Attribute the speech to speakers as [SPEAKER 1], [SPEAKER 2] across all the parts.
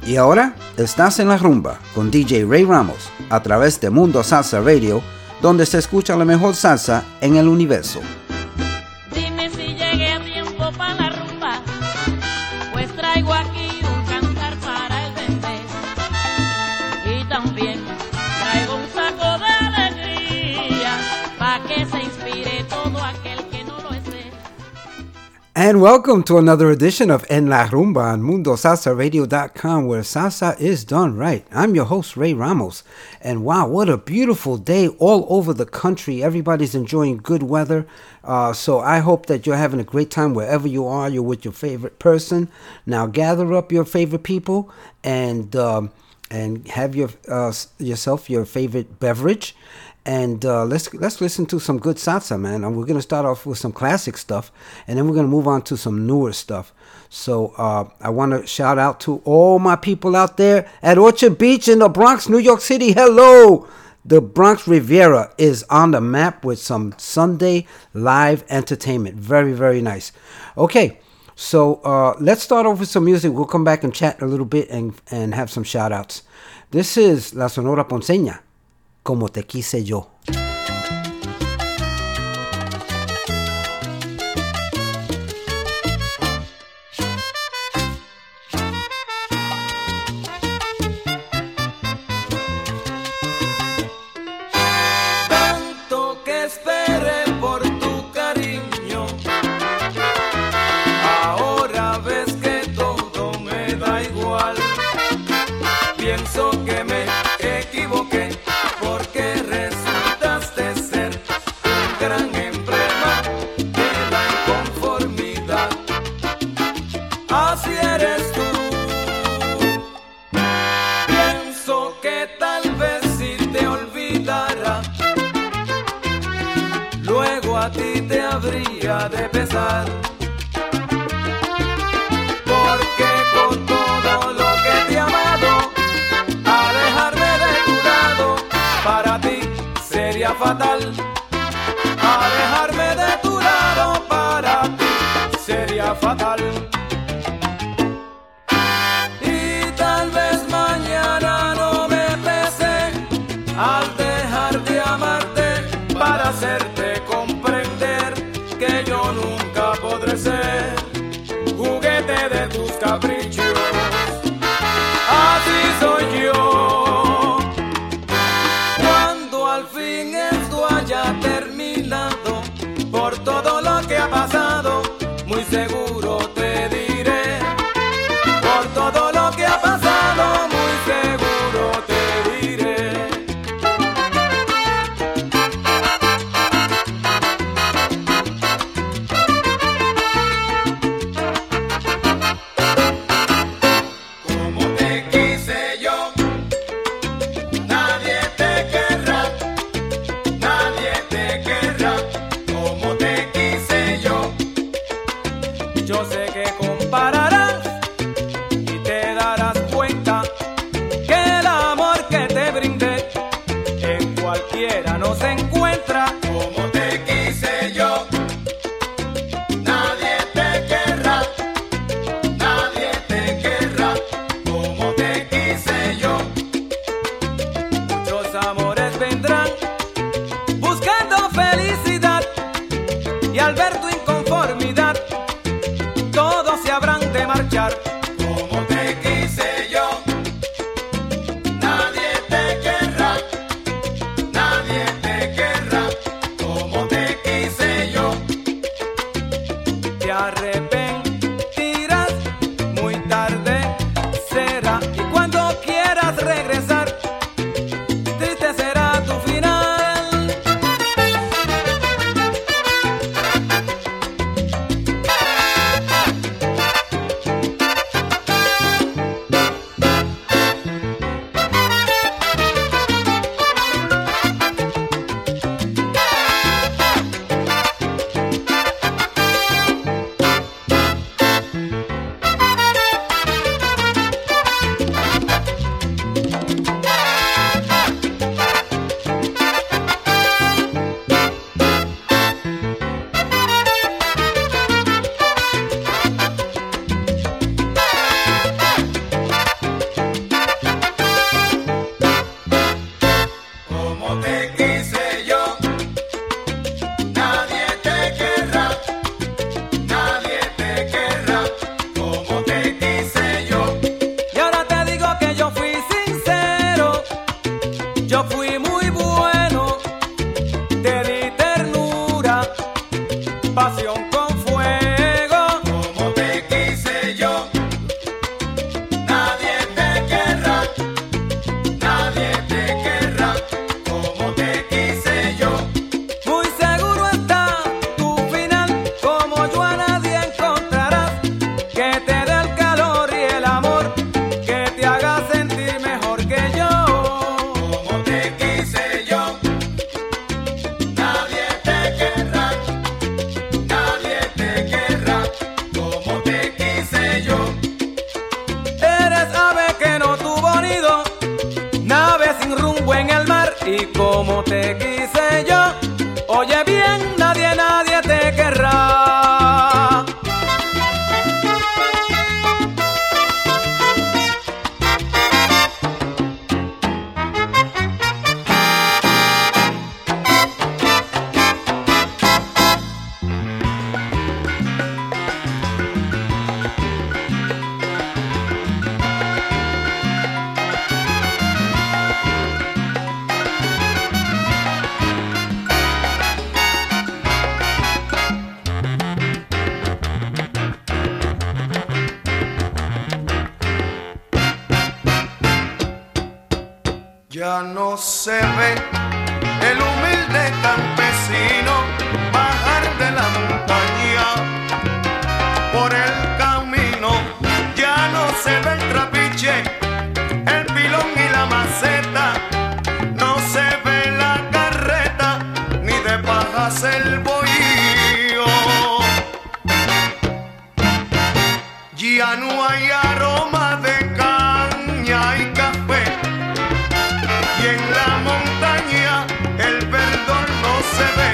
[SPEAKER 1] Y ahora estás en la rumba con DJ Ray Ramos a través de Mundo Salsa Radio, donde se escucha la mejor salsa en el universo.
[SPEAKER 2] Dime si llegué a tiempo para la rumba, pues traigo aquí un cantar para el bebé. Y también traigo un saco de alegría, para que se inspire todo aquel que no lo esté.
[SPEAKER 1] And welcome to another edition of En La Rumba on MundoSalsaRadio.com, where salsa is done right. I'm your host, Ray Ramos. And wow, what a beautiful day all over the country. Everybody's enjoying good weather. So I hope that you're having a great time wherever you are. You're with your favorite person. Now gather up your favorite people and have yourself your favorite beverage. And let's listen to some good salsa, man. And we're going to start off with some classic stuff, and then we're going to move on to some newer stuff. So I want to shout out to all my people out there at Orchard Beach in the Bronx, New York City. Hello! The Bronx Riviera is on the map with some Sunday live entertainment. Very, very nice. Okay, so let's start off with some music. We'll come back and chat a little bit and have some shout outs. This is La Sonora Ponceña. Como te quise yo.
[SPEAKER 3] Tanto que esperé por tu cariño, ahora ves que todo me da igual. Pienso que me equivoqué, porque resultaste ser un gran emblema de la inconformidad. Así eres tú. Pienso que tal vez si te olvidara, luego a ti te habría de pesar. Porque con todo lo que te he amado, alejarme de tu lado para ti sería fatal. Alejarme de tu lado para ti sería fatal. Y tal vez mañana no me pese al dejar de amarte, para hacerte comprender que yo nunca podré ser juguete de tus caprichos. Así soy yo. Cuando al fin esto haya terminado, por todo lo que ha pasado, muy seguro te diré. Por todo lo que ha pasado, muy seguro te diré. Como te quise yo, nadie te querrá, nadie te querrá. Como te quise yo, yo sé que compararás y te darás cuenta que el amor que te brindé en cualquiera no se encuentra. Como te quise yo, nadie te querrá, nadie te querrá. Como te quise yo, muchos amores vendrán buscando felicidad, y al ver tu inconformidad, todos se habrán de y como te quise yo, oye bien, nadie te querrá.
[SPEAKER 4] Ya no se ve el humilde campesino bajar de la montaña por el camino. Ya no se ve el trapiche, el pilón y la maceta. No se ve la carreta, ni de pajas el bohío. Ya no hay aroma de caña y café. Y en la montaña el verdor no se ve.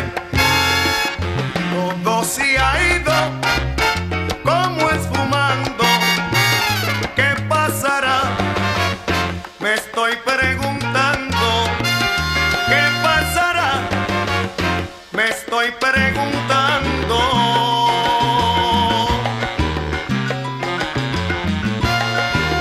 [SPEAKER 4] Todo se ha ido como esfumando. ¿Qué pasará? Me estoy preguntando. ¿Qué pasará? Me estoy preguntando.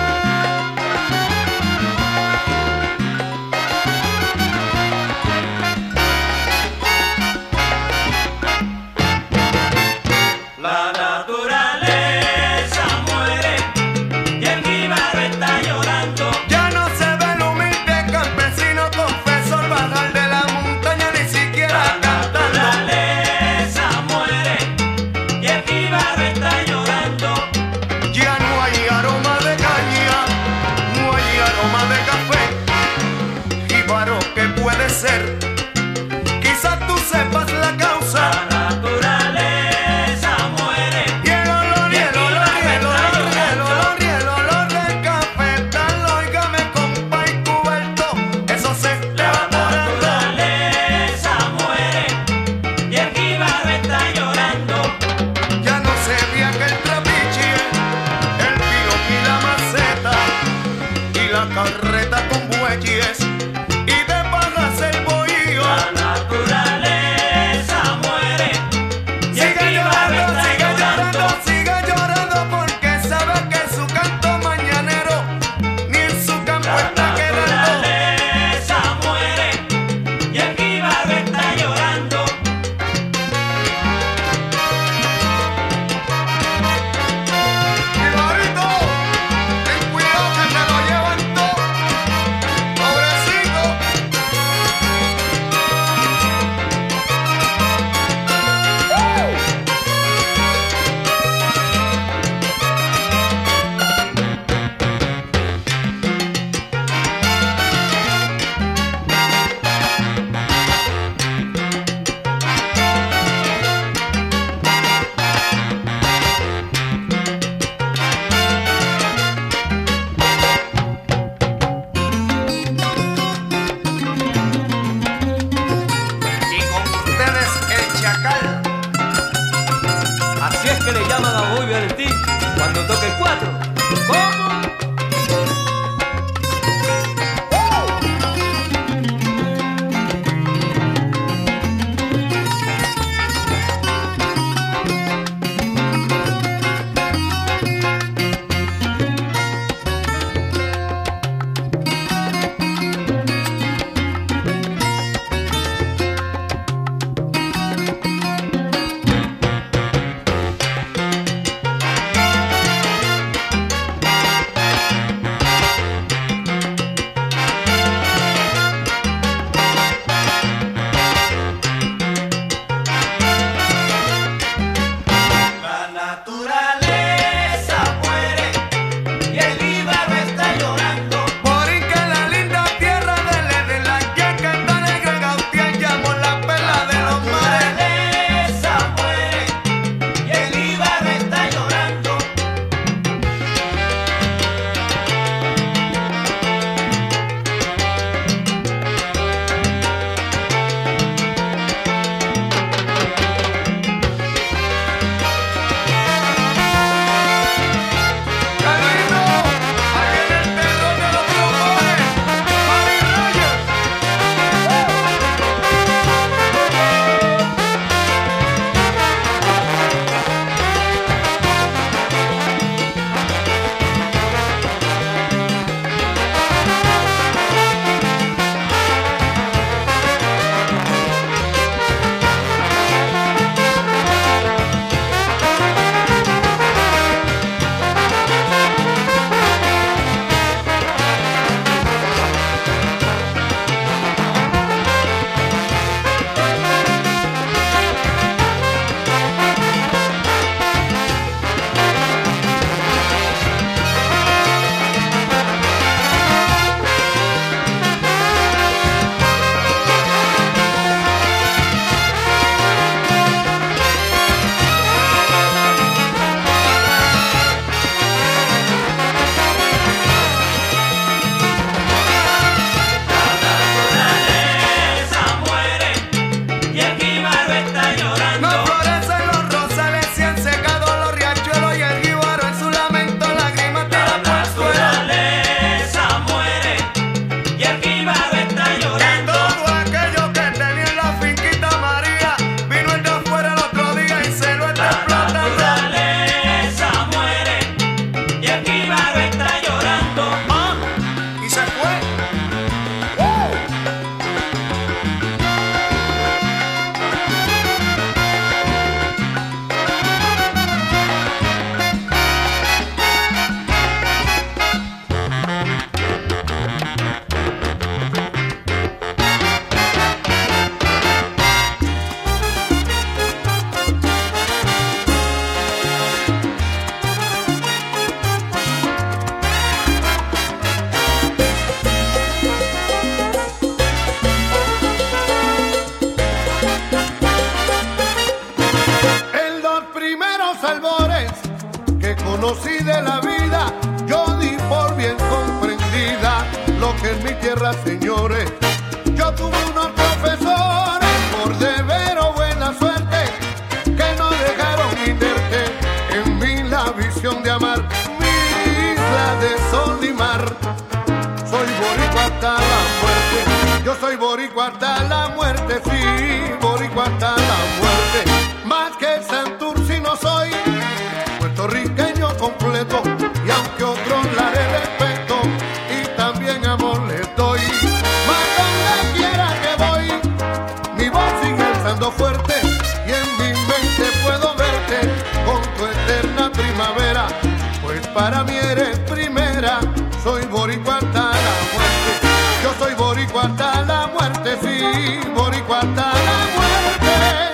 [SPEAKER 4] y de la vida yo di por bien comprendida lo que es mi tierra, señores. Yo tuve unos profesores por deber o buena suerte que no dejaron inerte en mí la visión de amar mi isla de sol y mar. Soy boricua hasta la muerte, yo soy boricua hasta la muerte, sí, boricua hasta la muerte. Más que Santurce no soy puertorriqueño completo, y aunque otros la de respeto y también amor les doy. Más donde quiera que voy, mi voz sigue alzando fuerte, y en mi mente puedo verte con tu eterna primavera, pues para mí eres primera. Soy boricua hasta la muerte, yo soy boricua hasta la muerte, sí, boricua hasta la muerte.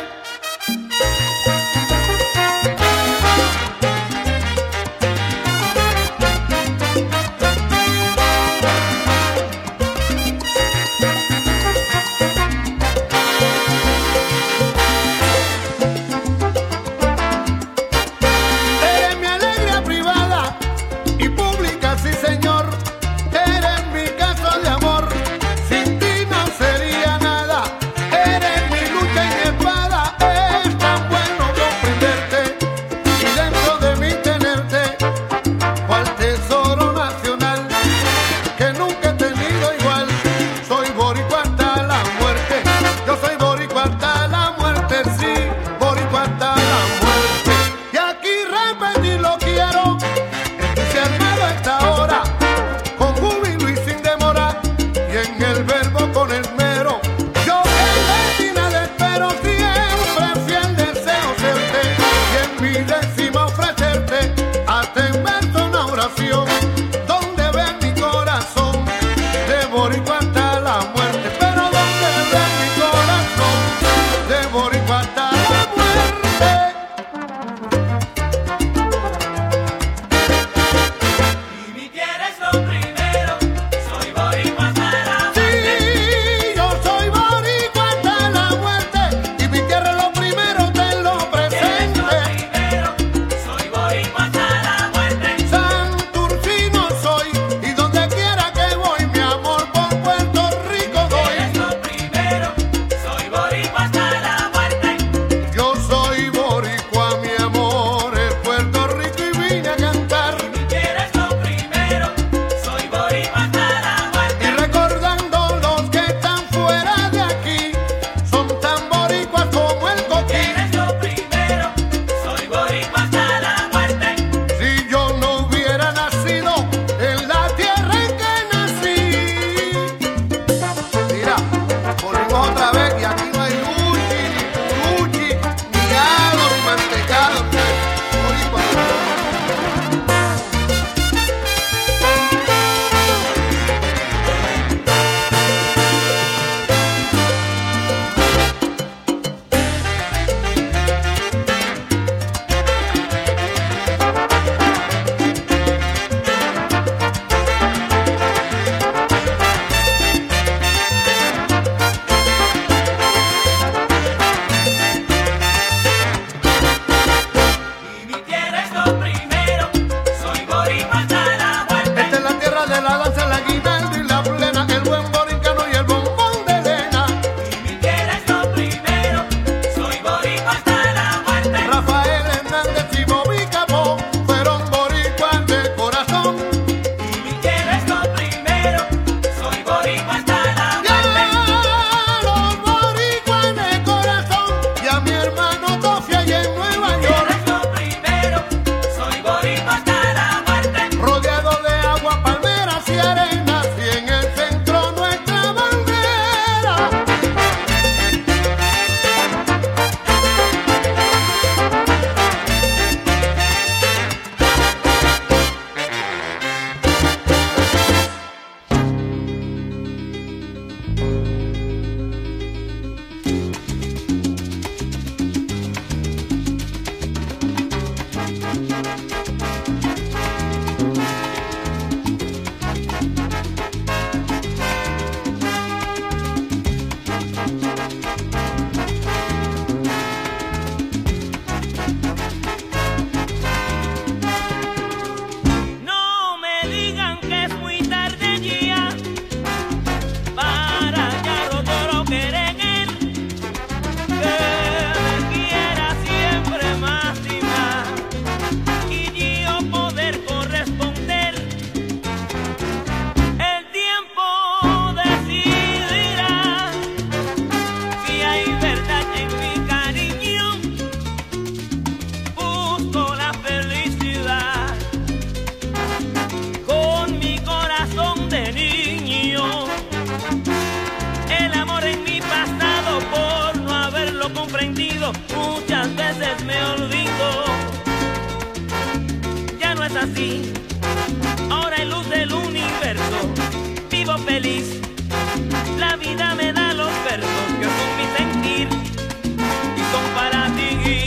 [SPEAKER 4] Eres mi alegría privada y pública, sí señor. Eres mi caso de amor, sin ti no sería nada. Eres mi lucha y mi espada, es tan bueno comprenderte y dentro de mí tenerte, cual tesoro nacional que nunca he tenido igual. Soy boricua hasta la muerte, yo soy boricua hasta la muerte, sí, boricua hasta la muerte. Y aquí repetirlo quiero, entusiasmado a esta hora, con júbilo y sin demora, y en el verbo con esmero. Yo que de ti nada espero, siempre fiel deseo serte, y en mi décima ofrecerte hasta en verso una oración, donde ve mi corazón de boricua hasta la muerte, pero donde ve mi corazón de boricua hasta la muerte.
[SPEAKER 3] Y mi tierra es lo primero, soy boricua hasta la
[SPEAKER 4] Sí,
[SPEAKER 3] muerte.
[SPEAKER 4] yo soy boricua hasta la muerte, y mi tierra es lo primero, te lo
[SPEAKER 3] Tierra es lo
[SPEAKER 4] presente.
[SPEAKER 3] primero, soy boricua hasta la muerte.
[SPEAKER 4] Santurce
[SPEAKER 5] me olvido. Ya no es así, ahora hay luz del universo. Vivo feliz, la vida me da los versos que son mi sentir y son para ti.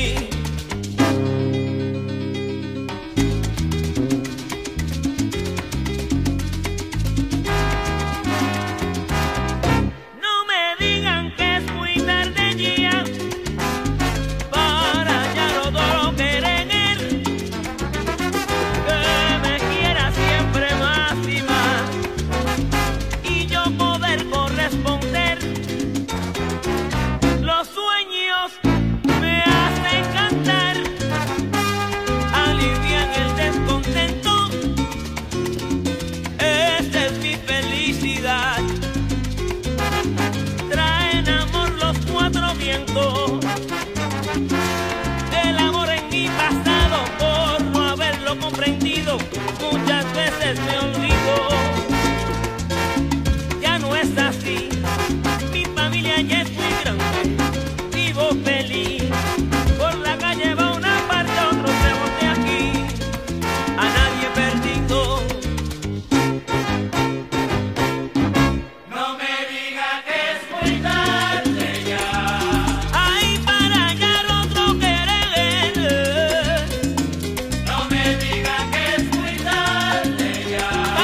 [SPEAKER 5] El amor en mi pasado, por no haberlo comprendido, muchas veces me olvido. Ya no es así, mi familia ya es muy grande, vivo feliz. Por la calle va una parte, otro lejos de aquí, a nadie perdido. No me diga que es muy tarde ya. No me diga que es muy tarde ya.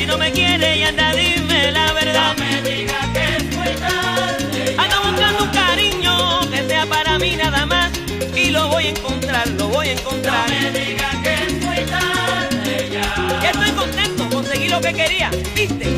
[SPEAKER 5] no me quiere y anda, dime la verdad.
[SPEAKER 2] No me digas que es muy tarde.
[SPEAKER 5] Ando buscando un cariño que sea para mí nada más. Y lo voy a encontrar, lo voy a encontrar.
[SPEAKER 2] No me digas que es muy tarde ya.
[SPEAKER 5] Ya estoy contento, conseguí lo que quería, ¿viste?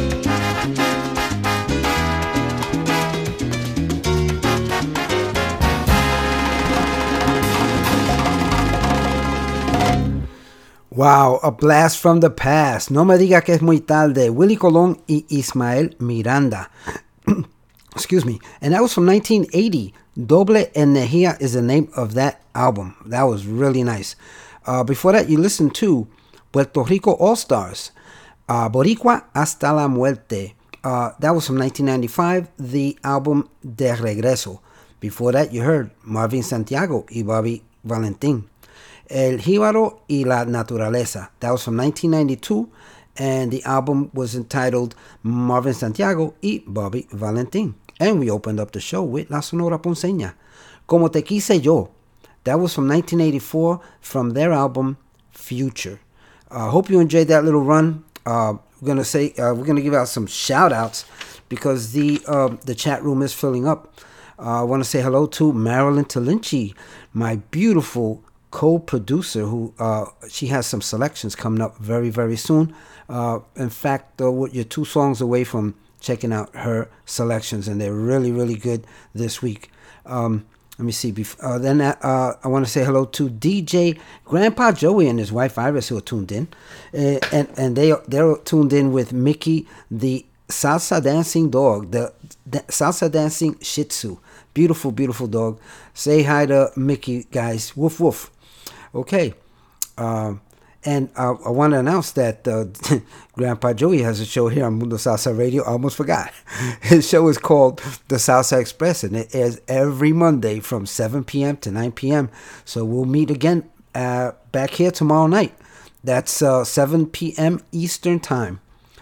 [SPEAKER 1] Wow, a blast from the past. No me diga que es muy tarde. Willie Colón y Ismael Miranda. Excuse me. And that was from 1980. Doble Energía is the name of that album. That was really nice. Before that, you listened to Puerto Rico All-Stars. Boricua Hasta la Muerte. That was from 1995. The album De Regreso. Before that, you heard Marvin Santiago y Bobby Valentin. El Jíbaro y la Naturaleza. That was from 1992, and the album was entitled Marvin Santiago y Bobby Valentin. And we opened up the show with La Sonora Ponceña. Como Te Quise Yo. That was from 1984 from their album Future. Hope you enjoyed that little run. We're gonna give out some shout outs because the chat room is filling up. I want to say hello to Marilyn Talinci, my beautiful co-producer who she has some selections coming up very, very soon. In fact, you're 2 songs away from checking out her selections, and they're really, really good this week. Let me see. Then I want to say hello to DJ Grandpa Joey and his wife Iris, who are tuned in, and they're tuned in with Mickey, the salsa dancing dog, the salsa dancing Shih Tzu. Beautiful, beautiful dog. Say hi to Mickey, guys. Woof woof. Okay. And I want to announce that Grandpa Joey has a show here on Mundo Salsa Radio. I almost forgot. His show is called The Salsa Express, and it airs every Monday from 7 p.m. to 9 p.m. So we'll meet again back here tomorrow night. That's 7 p.m. Eastern Time.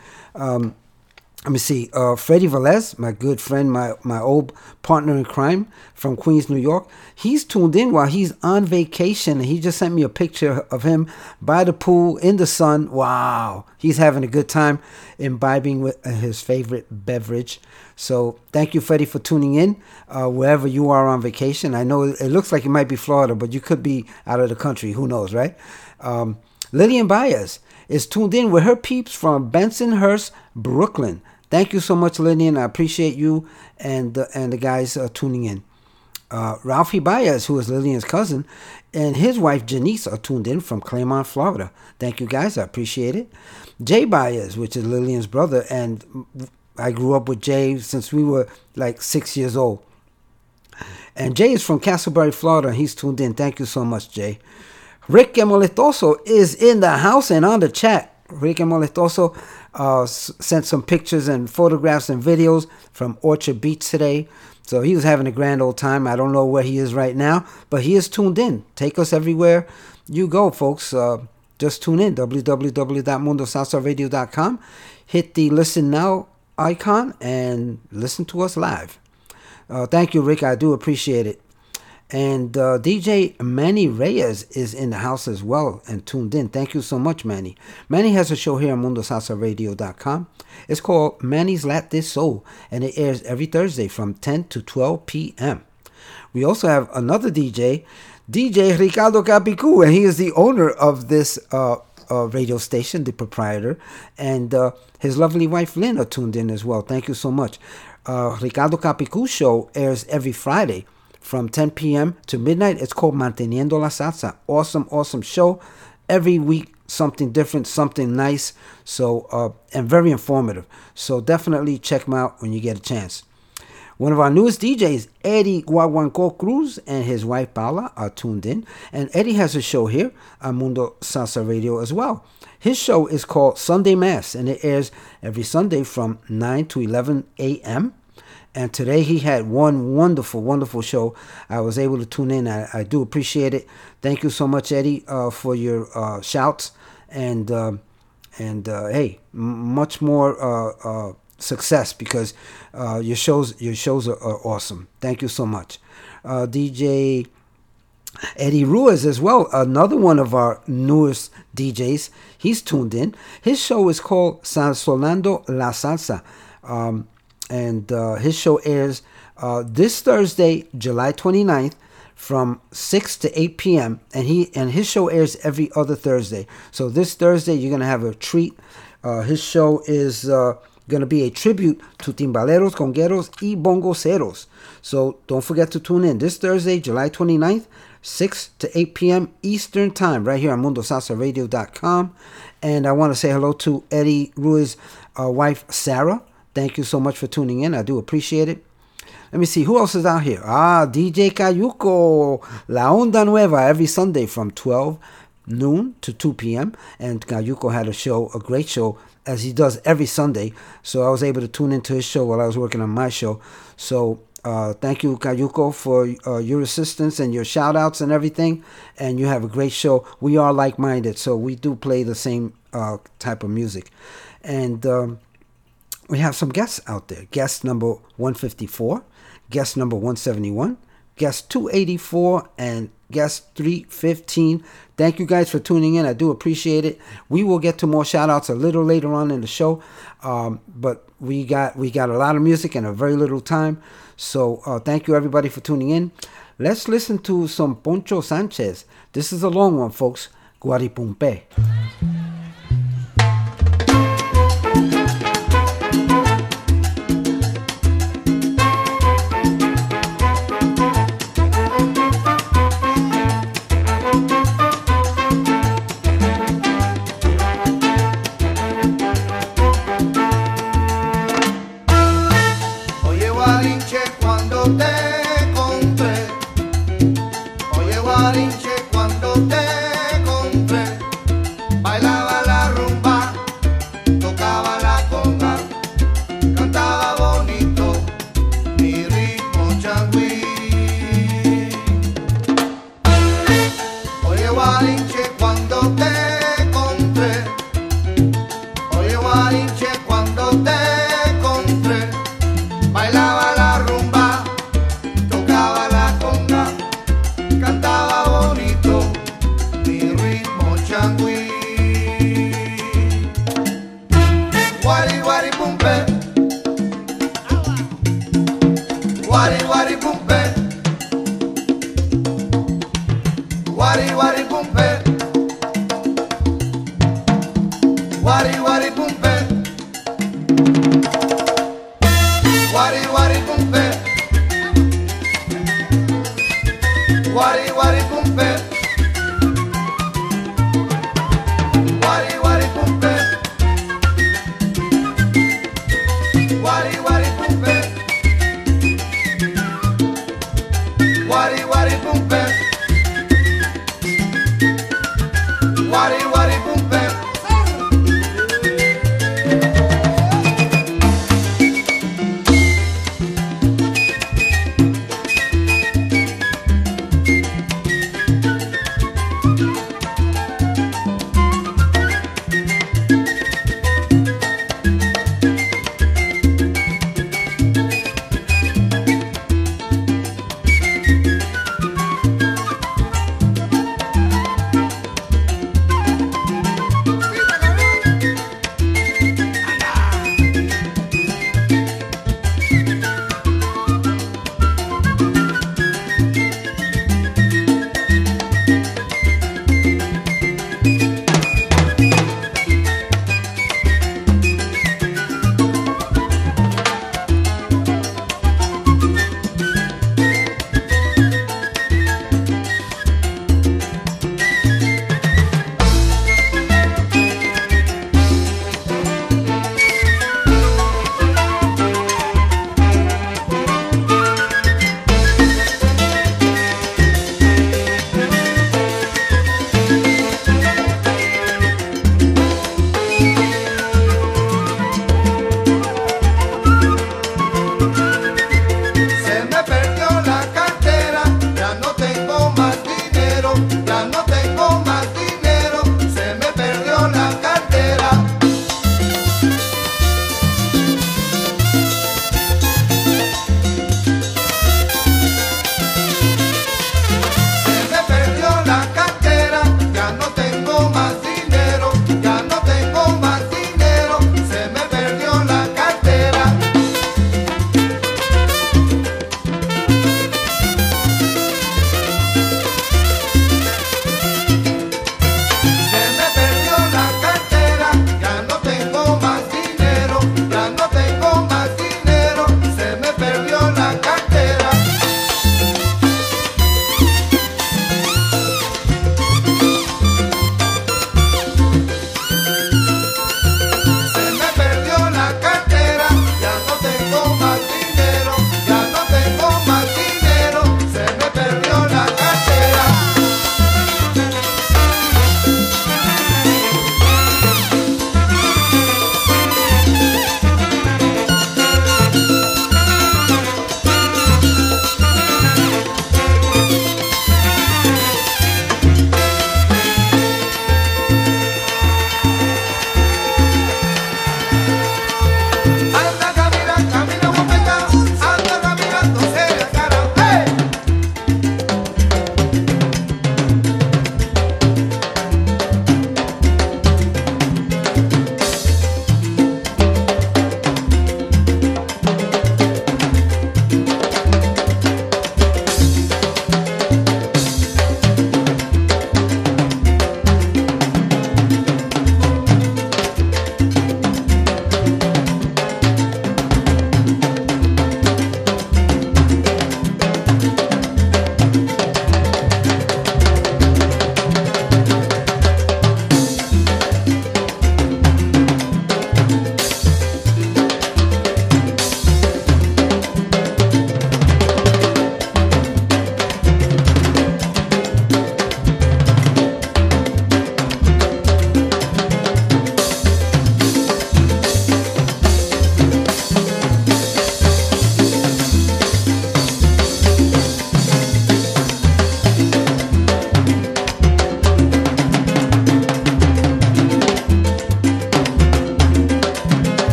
[SPEAKER 1] Let me see. Freddie Velez, my good friend, my old partner in crime from Queens, New York. He's tuned in while he's on vacation. He just sent me a picture of him by the pool in the sun. Wow. He's having a good time imbibing with his favorite beverage. So thank you, Freddie, for tuning in wherever you are on vacation. I know it looks like it might be Florida, but you could be out of the country. Who knows, right? Lillian Baez is tuned in with her peeps from Bensonhurst, Brooklyn. Thank you so much, Lillian. I appreciate you and the guys tuning in. Ralphie Baez, who is Lillian's cousin, and his wife Janice are tuned in from Claremont, Florida. Thank you, guys. I appreciate it. Jay Baez, which is Lillian's brother, and I grew up with Jay since we were like 6 years old. And Jay is from Castleberry, Florida, and he's tuned in. Thank you so much, Jay. Rick Moletoso is in the house and on the chat. Rick Moletoso sent some pictures and photographs and videos from Orchard Beach today. So he was having a grand old time. I don't know where he is right now, but he is tuned in. Take us everywhere you go, folks. Just tune in, www.mundosalsaradio.com. Hit the listen now icon and listen to us live. Thank you, Rick. I do appreciate it. And DJ Manny Reyes is in the house as well and tuned in. Thank you so much, Manny. Manny has a show here on MundoSalsaRadio.com. It's called Manny's Latin Soul, and it airs every Thursday from 10 to 12 p.m. We also have another DJ Ricardo Capicu, and he is the owner of this radio station, the proprietor, and his lovely wife Lynn are tuned in as well. Thank you so much. Ricardo Capicu's show airs every Friday from 10 p.m. to midnight. It's called Manteniendo la Salsa. Awesome, awesome show. Every week, something different, something nice. So, and very informative. So definitely check him out when you get a chance. One of our newest DJs, Eddie Guaguanco Cruz, and his wife Paula are tuned in. And Eddie has a show here on Mundo Salsa Radio as well. His show is called Sunday Mass, and it airs every Sunday from 9 to 11 a.m. And today he had one wonderful, wonderful show. I was able to tune in. I do appreciate it. Thank you so much, Eddie, for your shouts. And hey, much more success because your shows are awesome. Thank you so much. DJ Eddie Ruiz as well, another one of our newest DJs. He's tuned in. His show is called Sazonando la Salsa. And his show airs this Thursday, July 29th, from 6 to 8 p.m. And his show airs every other Thursday. So this Thursday, you're going to have a treat. His show is going to be a tribute to timbaleros, congueros, y bongoceros. So don't forget to tune in this Thursday, July 29th, 6 to 8 p.m. Eastern Time, right here on MundoSalsaRadio.com. And I want to say hello to Eddie Ruiz's wife, Sarah. Thank you so much for tuning in. I do appreciate it. Let me see, who else is out here? DJ Cayuco, La Onda Nueva, every Sunday from 12 noon to 2 p.m. And Cayuco had a great show, as he does every Sunday. So I was able to tune into his show while I was working on my show. So thank you, Cayuco, for your assistance and your shout-outs and everything. And you have a great show. We are like-minded, so we do play the same type of music. And we have some guests out there. Guest number 154, guest number 171, guest 284, and guest 315. Thank you guys for tuning in. I do appreciate it. We will get to more shout outs a little later on in the show. But we got a lot of music and a very little time. So thank you everybody for tuning in. Let's listen to some Poncho Sanchez. This is a long one, folks. Guaripumpe.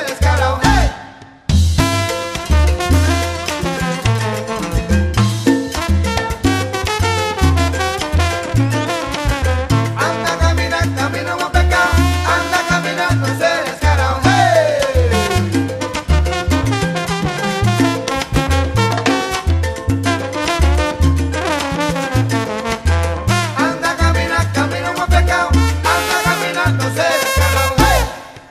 [SPEAKER 4] descarado. ¡Hey! Anda caminando, camino como pecado. Anda caminando ese descarado. ¡Hey! Anda caminando, camino como pecado. Anda caminando ese descarado. ¡Hey!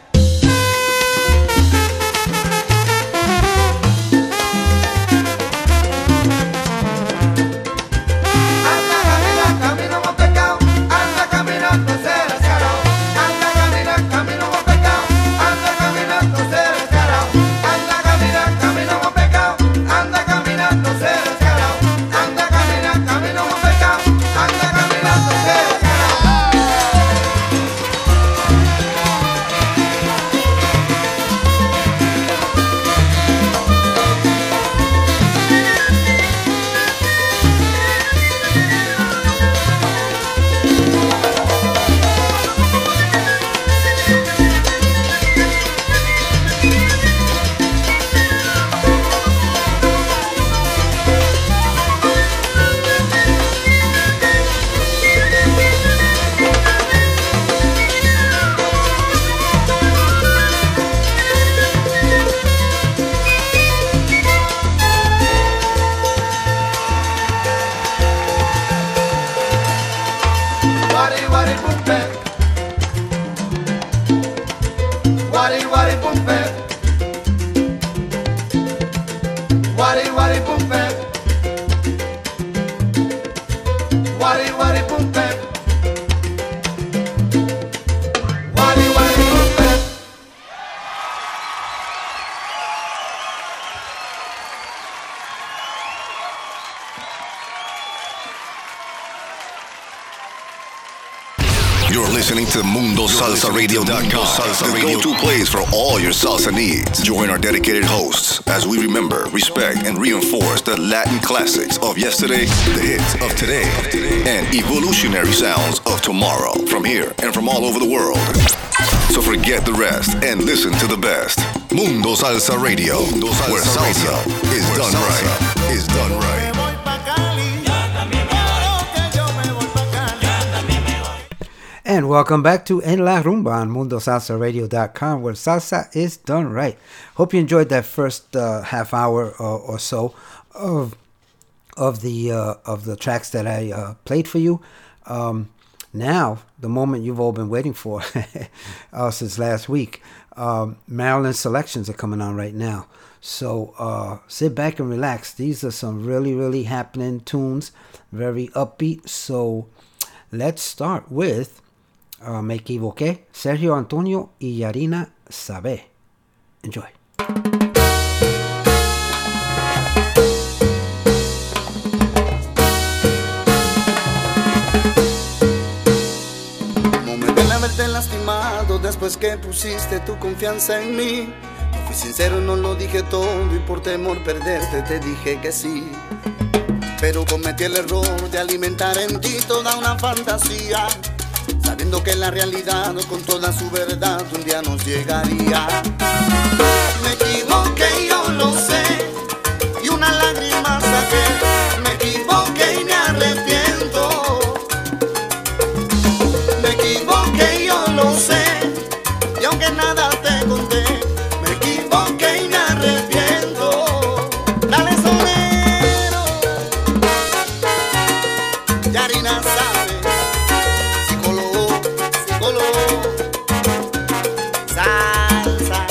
[SPEAKER 4] Anda caminando, camino como pecado. Anda caminando ese descarado. Anda caminando, camino como pecado. Anda caminando ese descarado. Anda caminando, camino como pecado. Anda caminando ese descarado. Anda caminando, camino como pecado. Anda caminando ese descarado. Wari wari pumpe, wari wari pumpe, wari wari pumpe, wari wari pumpe, wari wari pumpe.
[SPEAKER 6] You're listening to MundoSalsaRadio.com, the go-to place for all your salsa needs. Join our dedicated hosts as we remember, respect, and reinforce the Latin classics of yesterday, the hits of today, and evolutionary sounds of tomorrow from here and from all over the world. So forget the rest and listen to the best. Mundo Salsa Radio, where salsa is done right. Is done right.
[SPEAKER 1] And welcome back to En La Rumba on MundoSalsaRadio.com, where salsa is done right. Hope you enjoyed that first half hour or so of the tracks that I played for you. Now, the moment you've all been waiting for since last week. Maryland selections are coming on right now. So sit back and relax. These are some really, really happening tunes, very upbeat. So let's start with Me Equivoqué, Sergio Antonio y Yarina Sabé. Enjoy.
[SPEAKER 7] No me duele haberte lastimado después que pusiste tu confianza en mí. No fui sincero, no lo dije todo y por temor perderte te dije que sí. Pero cometí el error de alimentar en ti toda una fantasía, sabiendo que la realidad con toda su verdad un día nos llegaría. Me equivoqué, yo lo sé, y una lágrima saqué. Me equivoqué y me arrepiento. Me equivoqué, yo lo sé, y aunque nada te conté, me equivoqué y me arrepiento. Dale sonero, Yarina sabe, psicólogo, salsa,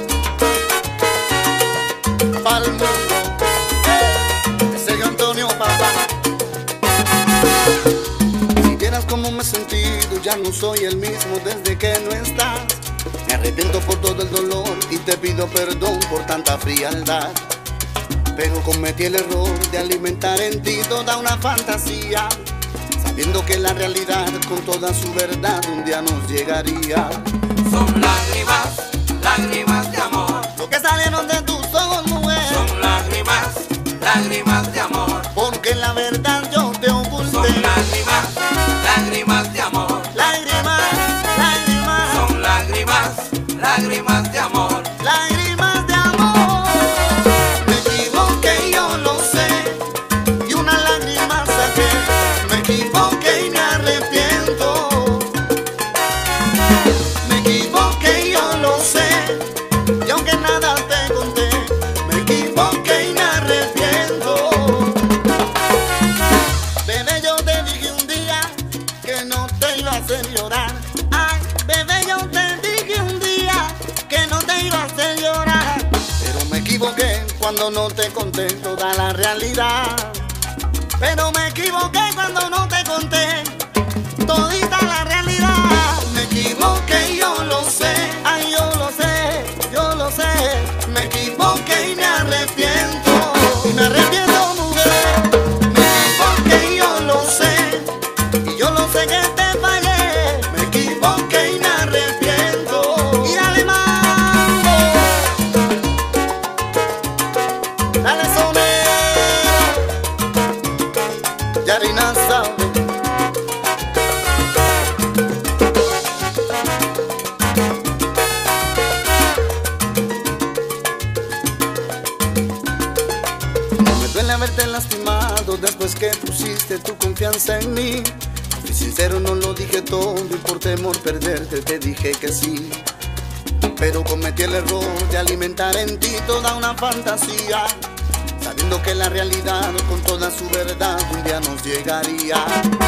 [SPEAKER 7] pa'l mundo, Sergio Antonio, papá. Si vieras cómo me he sentido, ya no soy el mismo desde que no estás. Me arrepiento por todo el dolor y te pido perdón por tanta frialdad. Pero cometí el error de alimentar en ti toda una fantasía, sabiendo que la realidad con toda su verdad un día nos llegaría.
[SPEAKER 3] Son lágrimas, lágrimas de amor.
[SPEAKER 7] Lo que salieron de tus ojos, mujer.
[SPEAKER 3] Son lágrimas, lágrimas de amor.
[SPEAKER 7] Porque la verdad yo te oculté.
[SPEAKER 3] Son lágrimas, lágrimas de amor.
[SPEAKER 7] Lágrimas, lágrimas.
[SPEAKER 3] Son lágrimas, lágrimas de amor.
[SPEAKER 7] Lágrimas. nada te conté. Me equivoqué y me arrepiento. Bebé, yo te dije un día que no te iba a hacer llorar. Ay, bebé, yo te dije un día que no te iba a hacer llorar. Pero me equivoqué cuando no te conté toda la realidad. Pero me equivoqué cuando no te conté todita la realidad. Me equivoqué y yo lo sé, ay, yo lo sé, yo lo sé. Me equivoqué y me arrepiento, mujer. Me equivoqué y yo lo sé, y yo lo sé que te fallé. Me equivoqué y me arrepiento. Y dale mambo, dale sonero, Yarina sabe. Haberte lastimado después que pusiste tu confianza en mí. Fui sincero, no lo dije todo y por temor perderte te dije que sí. Pero cometí el error de alimentar en ti toda una fantasía, sabiendo que la realidad con toda su verdad un día nos llegaría.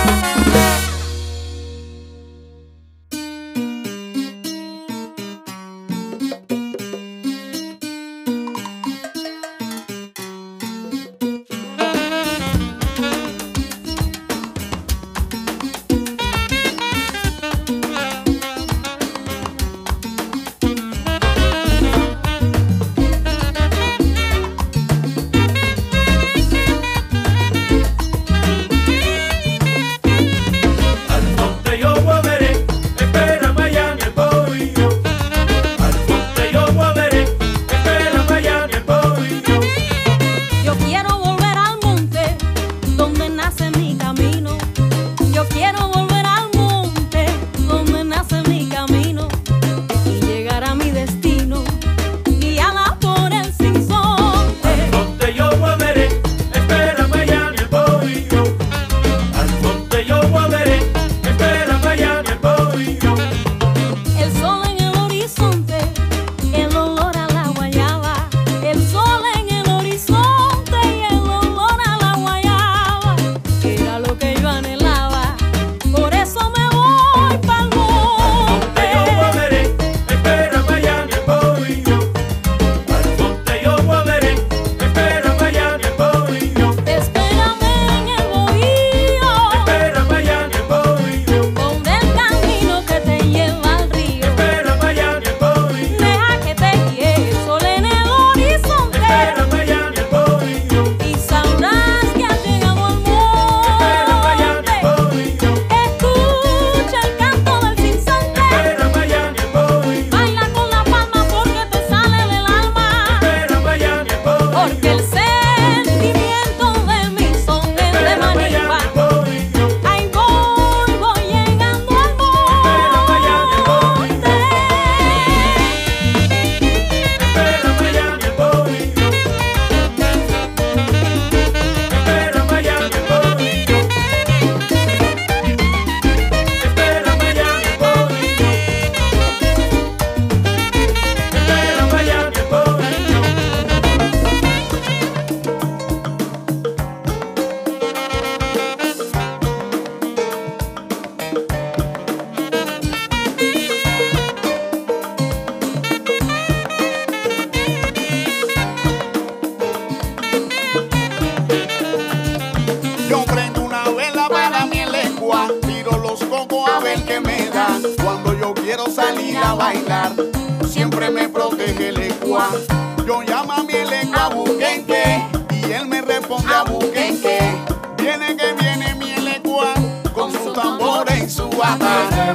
[SPEAKER 4] Siempre me protege el ecua. Yo llamo a mi lengua buquenque y él me responde a buquenque. Viene que viene mi lecua con su tambor y su bata.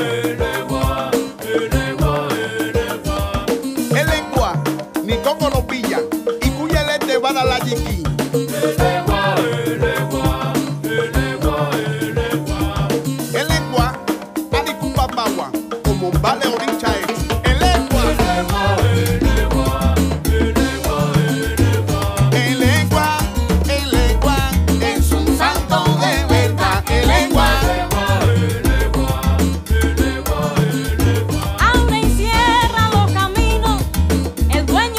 [SPEAKER 4] El lecua ni coco lo pilla y cuya le te va a dar la yiqui. El lecua adicupa bagua como vale orincha es.
[SPEAKER 2] Abre y cierra los caminos, el dueño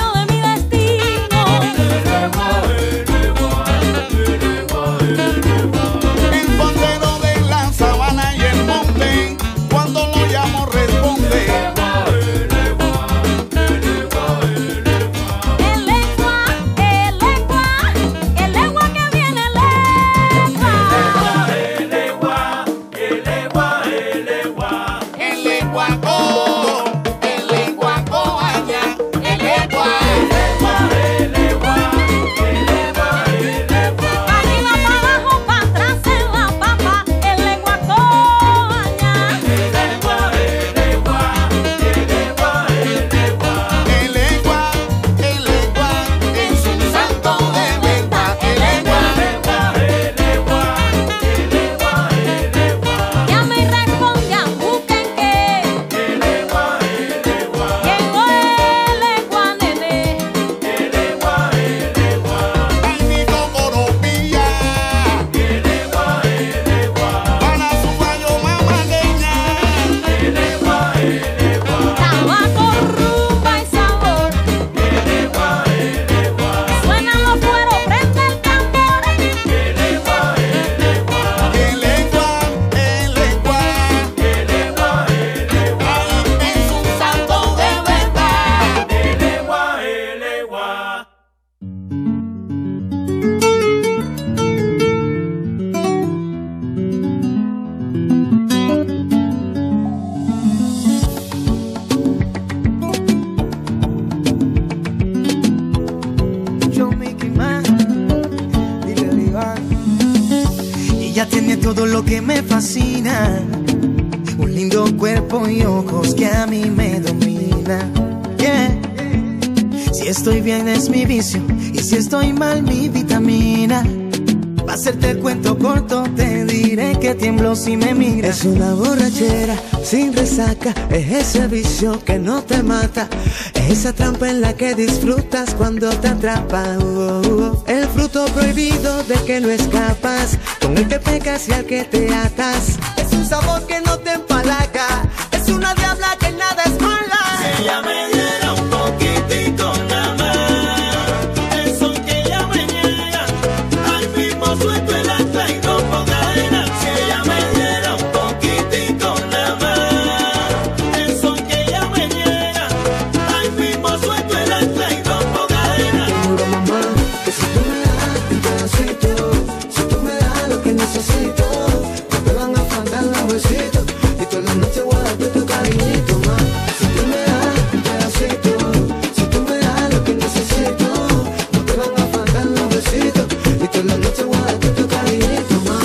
[SPEAKER 8] Ella tiene todo lo que me fascina, un lindo cuerpo y ojos que a mí me dominan. Yeah. Si estoy bien es mi vicio y si estoy mal mi vitamina. Pa' hacerte el cuento corto te diré que tiemblo si me miras. Es una borrachera sin resaca, es ese vicio que no te mata, es esa trampa en la que disfrutas cuando te atrapa. El fruto prohibido de que no escapas, con el que pecas y al que te atas. Es un sabor que no te empalaga, es una diabla que nada es mala.
[SPEAKER 5] Si ella me diera un poquitico nada más, eso que ella me niega, al mismo suelto el ancla y rompo cadena. Si ella me diera un poquitico nada más, eso que ella me niega, al mismo suelto el ancla y rompo cadena.
[SPEAKER 8] Te juro, mamá, que si tú me das un pedacito, si tú me das lo que necesito, no te van a faltar los besitos y toda la noche voy a darte tu cariñito, ma. Si tú me das un pedacito, si tú me das lo que necesito, no te van a faltar los besitos y toda la noche voy a darte tu cariñito, ma.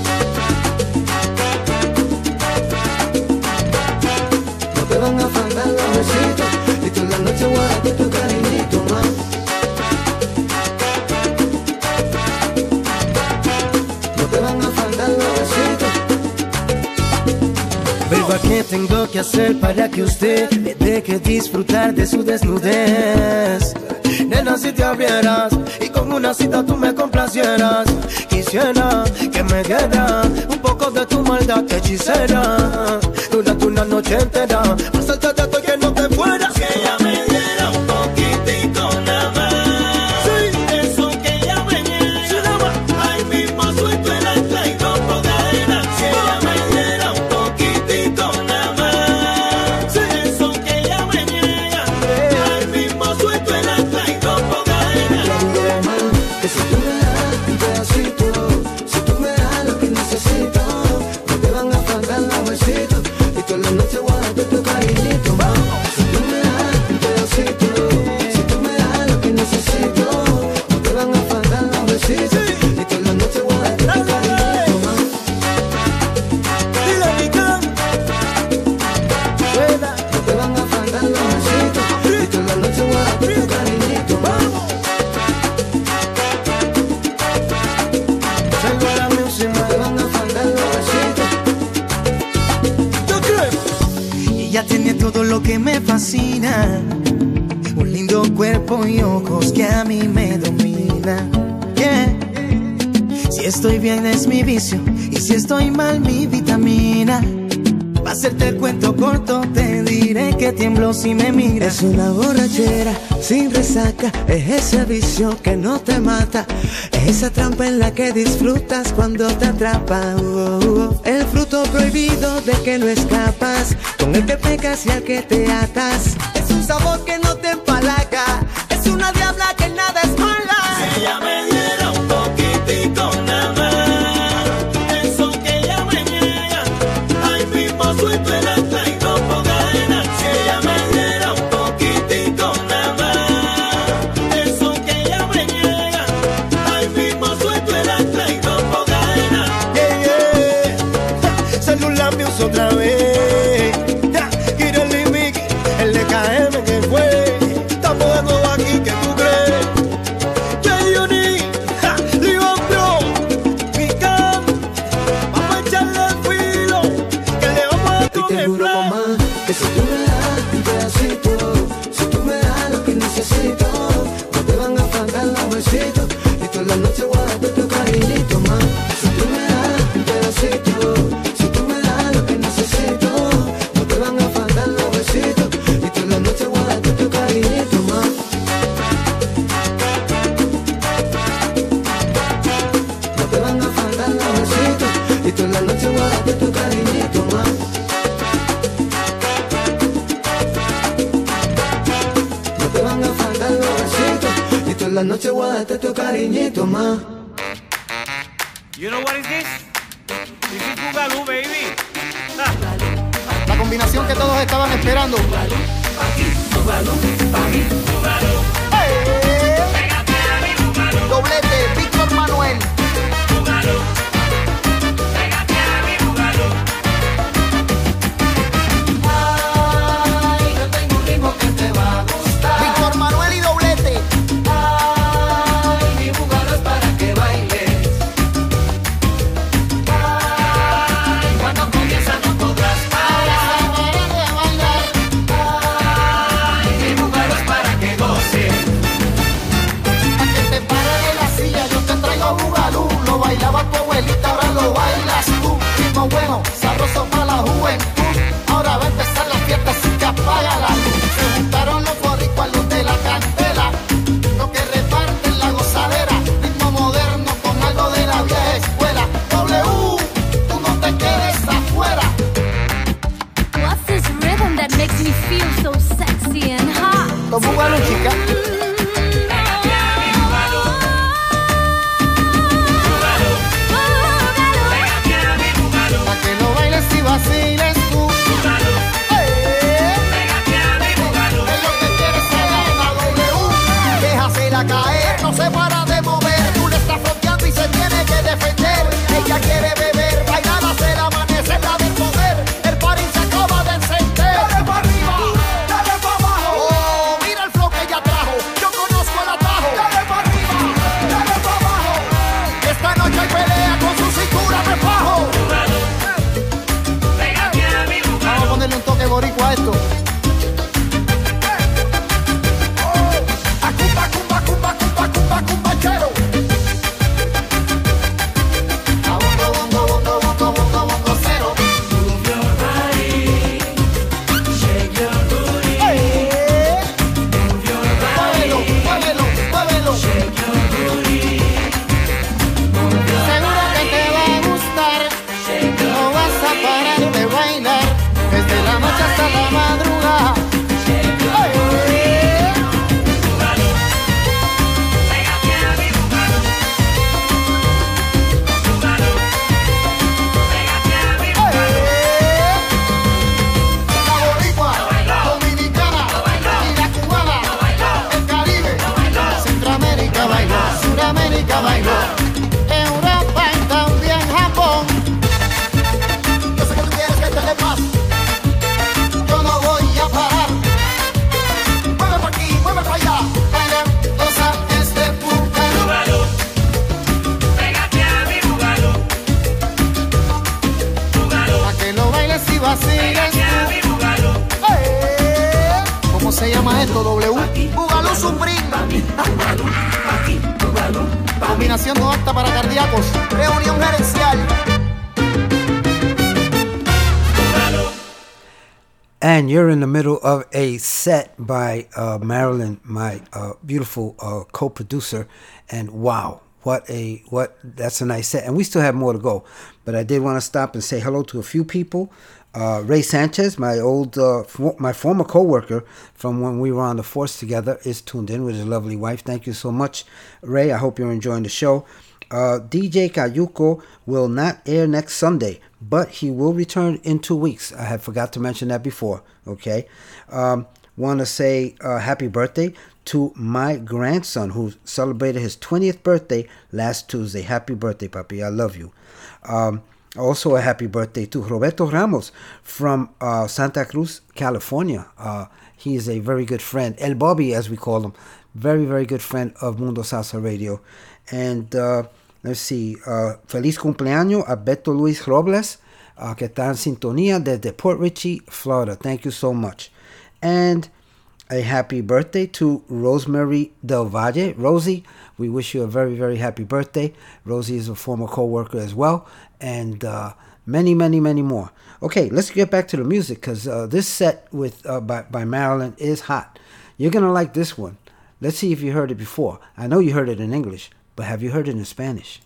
[SPEAKER 8] No te van a faltar los besitos y toda la noche voy a darte tu cariñito, ma. No te van a faltar los besitos. Verba, ¿qué tengo que hacer para que usted le deje disfrutar de su desnudez? Nena, si te abrieras y con una cita tú me complacieras, quisiera que me dieras un poco de tu maldad hechicera durante una noche entera, pasarte de todo y que no te fueras.
[SPEAKER 5] Si ella me diera un poquitico nada más, eso que ella me niega, ahí mismo suelto el ancla y rompo cadena. Si ella me diera un poquitico nada más, eso que ella me niega, ahí mismo suelto el ancla y rompo cadena.
[SPEAKER 8] Que si tú me das un pedacito, si tú me das lo que necesito, no te van a faltar los besitos y toda la noche voy a darte tu cariñito, ma. Si tú me das un pedacito, si tú me das lo que necesito, no te van a faltar los besitos y toda la noche voy a darte tu cariñito, ma.
[SPEAKER 5] Dile mi can,
[SPEAKER 8] Suena, no te van a faltar los besitos y toda la noche voy a darte tu cariñito, ma. Salgo a la música, no te van a faltar los besitos.
[SPEAKER 5] ¿tú crees?
[SPEAKER 8] Ella tiene todo lo que me fascina, un lindo cuerpo y ojos que a mí me dominan. Yeah. Si estoy bien es mi vicio y si estoy mal mi vitamina. Pa' hacerte el cuento corto te diré que tiemblo si me miras. Es una borrachera sin resaca, es ese vicio que no te mata, es esa trampa en la que disfrutas cuando te atrapa. El fruto prohibido de que no escapas, con el que pecas y al que te atas. Es un sabor que no te empalaga, es una diabla que nada es mala.
[SPEAKER 5] Si ella me diera un poquitico nada más, eso que ella me niega, ahí mismo suelto el ancla y rompo cadena. Si ella me diera un poquitico nada más, eso que ella me niega, ahí mismo suelto el ancla y rompo cadena.
[SPEAKER 8] Celular News otra vez. Kireli Mickey, el LKM que fue. Estamos de nuevo aquí, ¿qué tú crees?
[SPEAKER 5] J-Uni, Leon Bro, Mican, vamos a echarle el filo, que le vamos a
[SPEAKER 8] Y te
[SPEAKER 5] comer
[SPEAKER 8] juro,
[SPEAKER 5] flan.
[SPEAKER 8] mamá, que si tú me das un pedacito, si tú me das lo que necesito, no te van a faltar los besitos y toda la noche voy a darte tu cariñito, ma. Si tú me das un pedacito, si tú me das lo que necesito, no te van a faltar los besitos y toda la noche voy a darte tu cariñito, ma. No te van a faltar los besitos y toda la noche voy a darte tu cariñito, ma. No te van a faltar los besitos y toda la noche voy a darte tu cariñito, ma.
[SPEAKER 5] You know what is this? This is Boogaloo, baby.
[SPEAKER 9] La combinación que todos estaban esperando.
[SPEAKER 5] Pégate a mi Boogaloo,
[SPEAKER 9] Doblete, Víctor Manuel.
[SPEAKER 5] Boogaloo.
[SPEAKER 9] a caer, no se para de mover. Tú le estás fronteando y se tiene que defender. Ella quiere beber, bailar hasta el amanecer, la del poder. El party se acaba de encender. Dale para arriba, dale para abajo. Oh, mira el flow que ella trajo. Yo conozco el atajo. Dale para arriba, dale para abajo. Esta noche hay pelea con su cintura me fajo. Vamos a ponerle un toque boricua a esto. ¿Cómo se llama esto? W. Bugalú Supreme. Combinación no apta para cardíacos. Reunión gerencial.
[SPEAKER 1] And you're in the middle of a set by Marilyn, my beautiful co-producer, and wow, that's a nice set. And we still have more to go, but I did want to stop and say hello to a few people. Ray Sanchez, my former co-worker from when we were on the force together, is tuned in with his lovely wife. Thank you so much, Ray. I hope you're enjoying the show. DJ Cayuco will not air next Sunday, but he will return in 2 weeks. I had forgot to mention that before. Okay. Want to say happy birthday to my grandson who celebrated his 20th birthday last Tuesday. Happy birthday, Papi. I love you. Also a happy birthday to Roberto Ramos from Santa Cruz, California. He is a very good friend. El Bobby, as we call him. Very, very good friend of Mundo Salsa Radio. And let's see. Feliz cumpleaños a Beto Luis Robles, que está en sintonía desde Port Richey, Florida. Thank you so much. And a happy birthday to Rosemary Del Valle. Rosie, we wish you a very, very happy birthday. Rosie is a former co-worker as well. And many, many, many more. Okay, let's get back to the music because this set with by Marilyn is hot. You're going to like this one. Let's see if you heard it before. I know you heard it in English, but have you heard it in Spanish?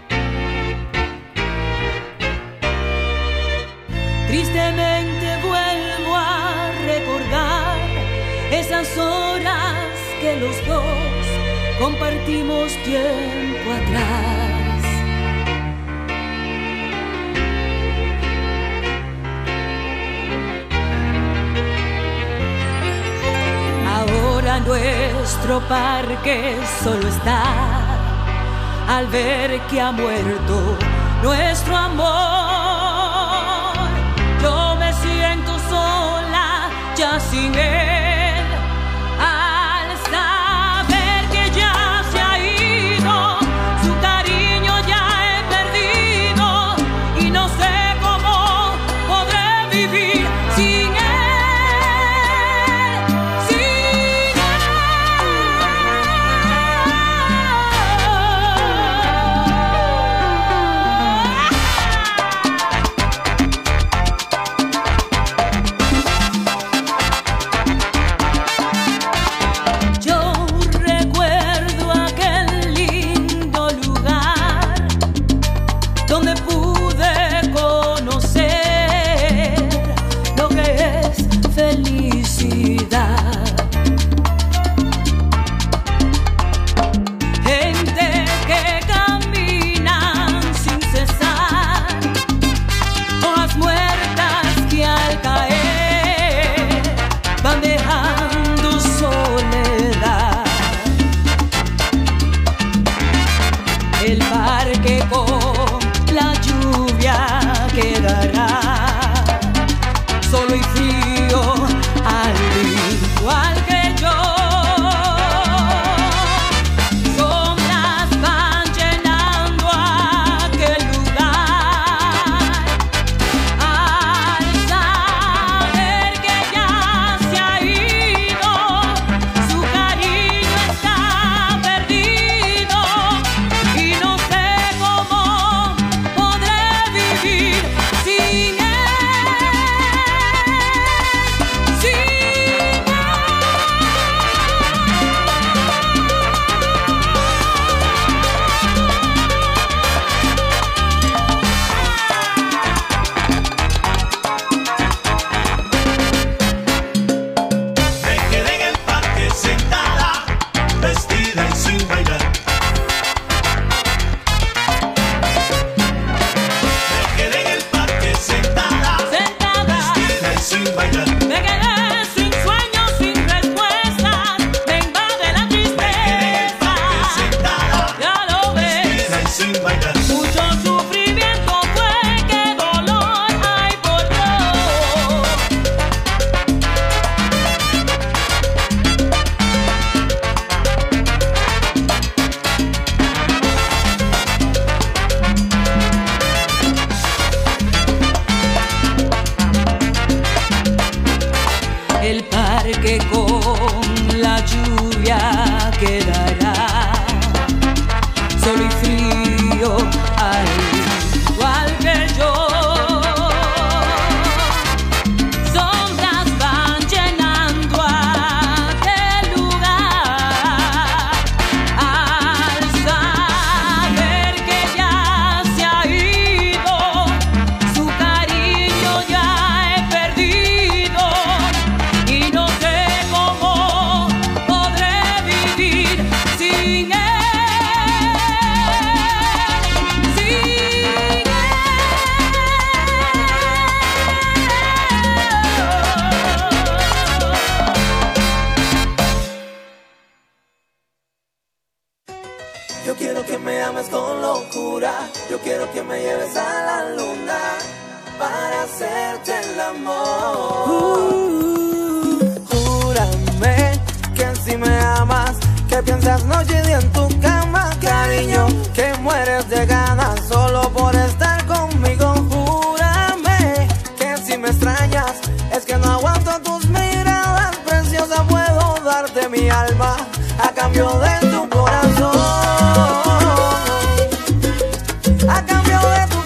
[SPEAKER 10] Tristemente vuelvo a recordar esas horas que los dos compartimos tiempo atrás. Ahora nuestro parque solo está al ver que ha muerto nuestro amor. Yo me siento sola ya sin él, al saber que ya se ha ido, su cariño ya he perdido y no sé cómo podré vivir sin él.
[SPEAKER 11] vestida y sin bailar. Me quedé en el parque sentada, vestida y sin bailar.
[SPEAKER 10] Me quedé sin sueños, sin respuestas, me invade la tristeza. Ya lo ves,
[SPEAKER 11] Sin bailar.
[SPEAKER 10] mucho sufrimiento fue, qué dolor hay por Dios. El parque con la lluvia quedará solo y frío, al igual que yo. Sombras van llenando aquel lugar al saber que ya se ha ido, su cariño ya he perdido y no sé cómo podré vivir sin él.
[SPEAKER 3] Yo quiero que me ames con locura. Yo quiero que me lleves a la luna para hacerte el amor. Júrame que si me amas, que piensas noche y día en tu cama, cariño, que mueres de ganas solo por estar conmigo. Júrame que si me extrañas, es que no aguanto tus miradas, preciosa, puedo darte mi alma a cambio de tu corazón. A cambio de tu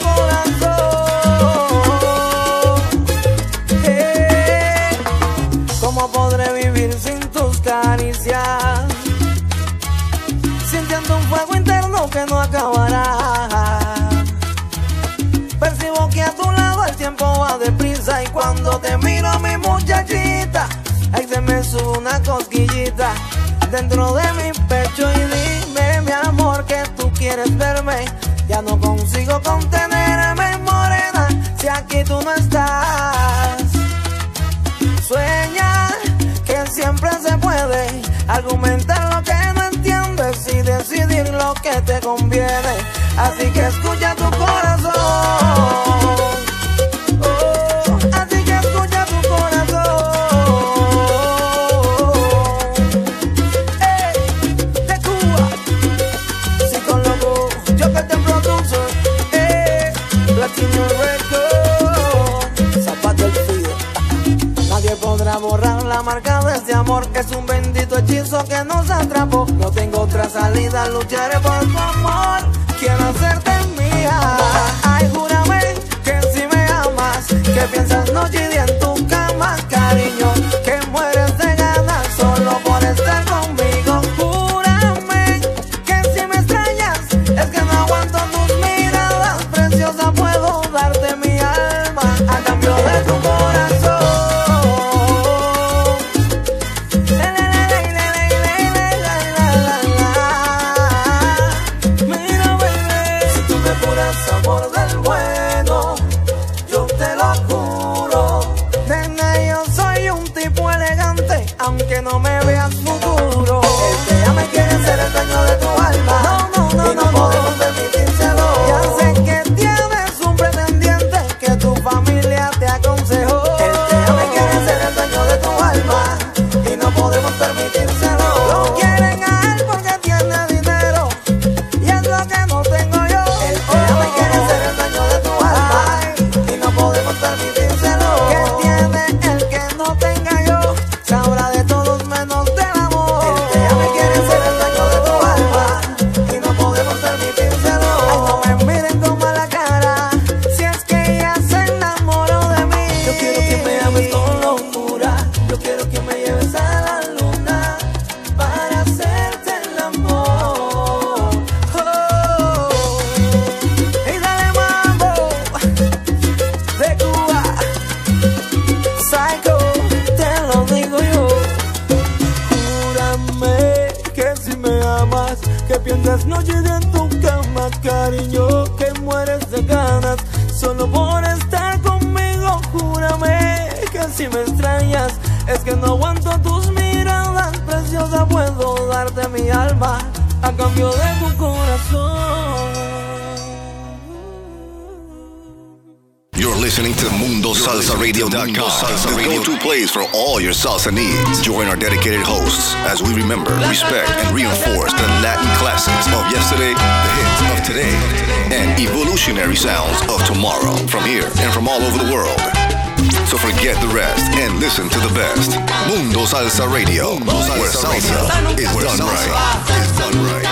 [SPEAKER 3] corazón. ¿Cómo podré vivir sin tus caricias? Sintiendo un fuego interno que no acabará. Percibo que a tu lado el tiempo va deprisa y cuando te miro, mi muchachita, ahí se me sube una cosquillita dentro de mi pecho y dime, mi amor, que tú quieres verme. Ya no consigo contenerme, morena, si aquí tú no estás. Sueña que siempre se puede argumentar lo que no entiendes y decidir lo que te conviene. Así que escucha tu corazón. Oh, así que escucha tu corazón. De Cuba, sí, con loco, yo que te produce. Latino Record, Zapata el Fido. Nadie podrá borrar la marca de este amor. Es un bendito hechizo que nos atrapó. No tengo otra salida, lucharé por tu amor. Quiero hacerte mía. Ay, júrame que si me amas, que piensas noche y día en tu cama, cariño, que mueres de ganas solo por estar conmigo. Júrame que si me extrañas, es que no aguanto tus miradas, preciosa, puedo darte mi alma a cambio de tu corazón. Mira, baby, si tú me juras amor del bueno, yo te lo juro
[SPEAKER 12] más. Que piensas noche en tu cama, cariño, que mueres de ganas. Solo por estar conmigo, júrame que si me extrañas. Es que no aguanto tus miradas, preciosa, puedo darte mi alma a cambio de tu corazón.
[SPEAKER 6] You're listening to MundoSalsaRadio.com, the go-to place for all your salsa needs. Join our dedicated hosts as we remember, respect, and reinforce the Latin classics of yesterday, the hits of today, and evolutionary sounds of tomorrow from here and from all over the world. So forget the rest and listen to the best. Mundo Salsa Radio, where salsa is done right. Is done right.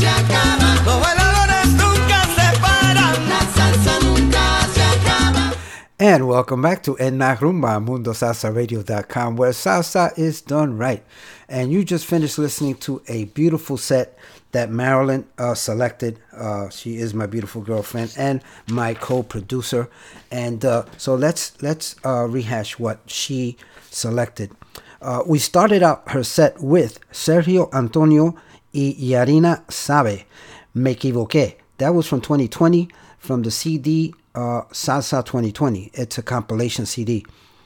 [SPEAKER 1] And welcome back to En La Rumba, MundoSalsaRadio.com, where salsa is done right. And you just finished listening to a beautiful set that Marilyn selected. She is my beautiful girlfriend and my co-producer. And so let's rehash what she selected. We started out her set with Sergio Antonio y Yarina Sabe, Me Equivoqué. That was from 2020, from the CD Salsa 2020. It's a compilation CD.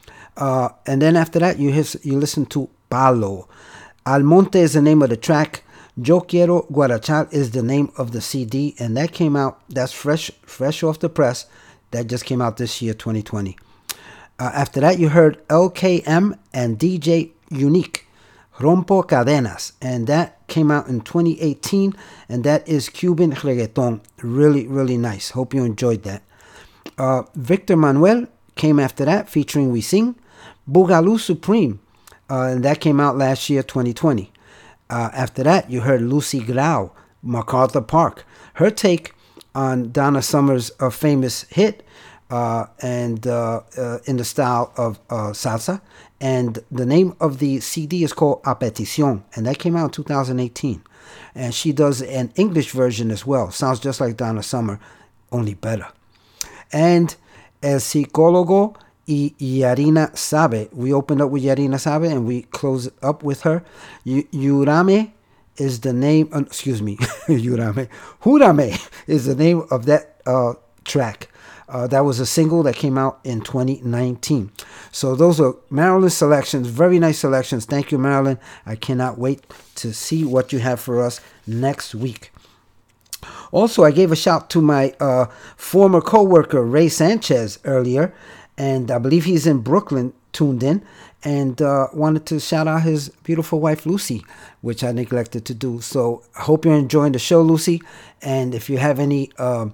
[SPEAKER 1] And then after that, you listen to Palo. Almonte is the name of the track. Yo Quiero Guarachar is the name of the CD, and that came out, that's fresh off the press. That just came out this year, 2020. After that, you heard LKM and DJ Unique, Rompo Cadenas, and that came out in 2018, and that is Cuban reggaeton. Really, really nice. Hope you enjoyed that. Victor Manuel came after that, featuring We Sing, Boogaloo Supreme, and that came out last year, 2020. After that, you heard Lucy Grau, MacArthur Park, her take on Donna Summer's famous hit, and in the style of salsa. And the name of the CD is called A Petición, and that came out in 2018. And she does an English version as well. Sounds just like Donna Summer, only better. And El Psicólogo y Yarina Sabe. We opened up with Yarina Sabe and we close up with her. Júrame is the name, Júrame is the name of that track. That was a single that came out in 2019. So those are Marilyn's selections. Very nice selections. Thank you, Marilyn. I cannot wait to see what you have for us next week. Also, I gave a shout to my former co-worker, Ray Sanchez, earlier. And I believe he's in Brooklyn, tuned in. And wanted to shout out his beautiful wife, Lucy, which I neglected to do. So I hope you're enjoying the show, Lucy. And if you have any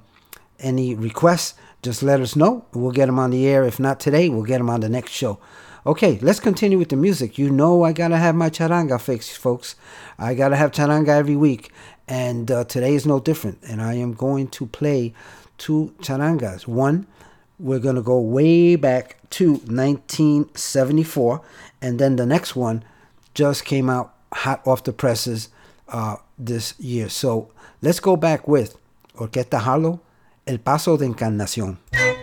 [SPEAKER 1] requests, just let us know. We'll get them on the air. If not today, we'll get them on the next show. Okay, let's continue with the music. You know I got to have my charanga fixed, folks. I got to have charanga every week. And today is no different. And I am going to play two charangas. One, we're going to go way back to 1974. And then the next one just came out hot off the presses this year. So let's go back with Orquesta Harlow, El Paso de Encarnación.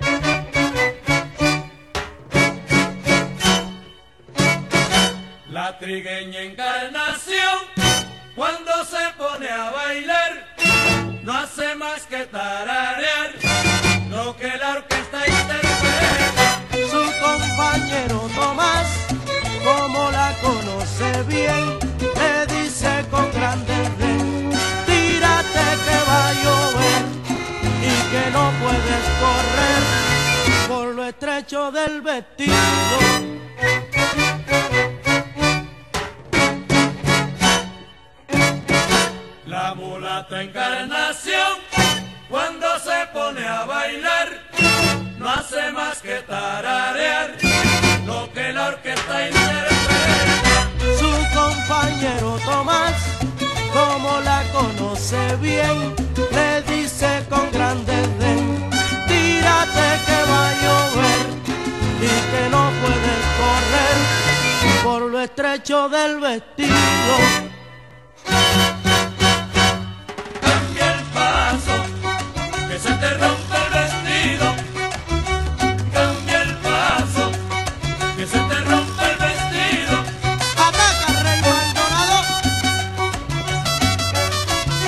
[SPEAKER 11] La trigueña Encarnación, cuando se pone a bailar, no hace más que tararear lo que la orquesta interpreta.
[SPEAKER 12] Su compañero Tomás, como la conoce bien, le dice con gran desdén: tírate que va a llover y que no puedes correr por lo estrecho del vestido.
[SPEAKER 11] La mulata Encarnación, cuando se pone a bailar, no hace más que tararear lo que la orquesta interpreta.
[SPEAKER 12] Su compañero Tomás, como la conoce bien, le dice con gran desdén: tírate que va a llover y que no puedes correr por lo estrecho del vestido.
[SPEAKER 11] Que se te rompe el vestido, cambia el paso, que se te rompe el vestido.
[SPEAKER 12] Ataca Rey Maldonado.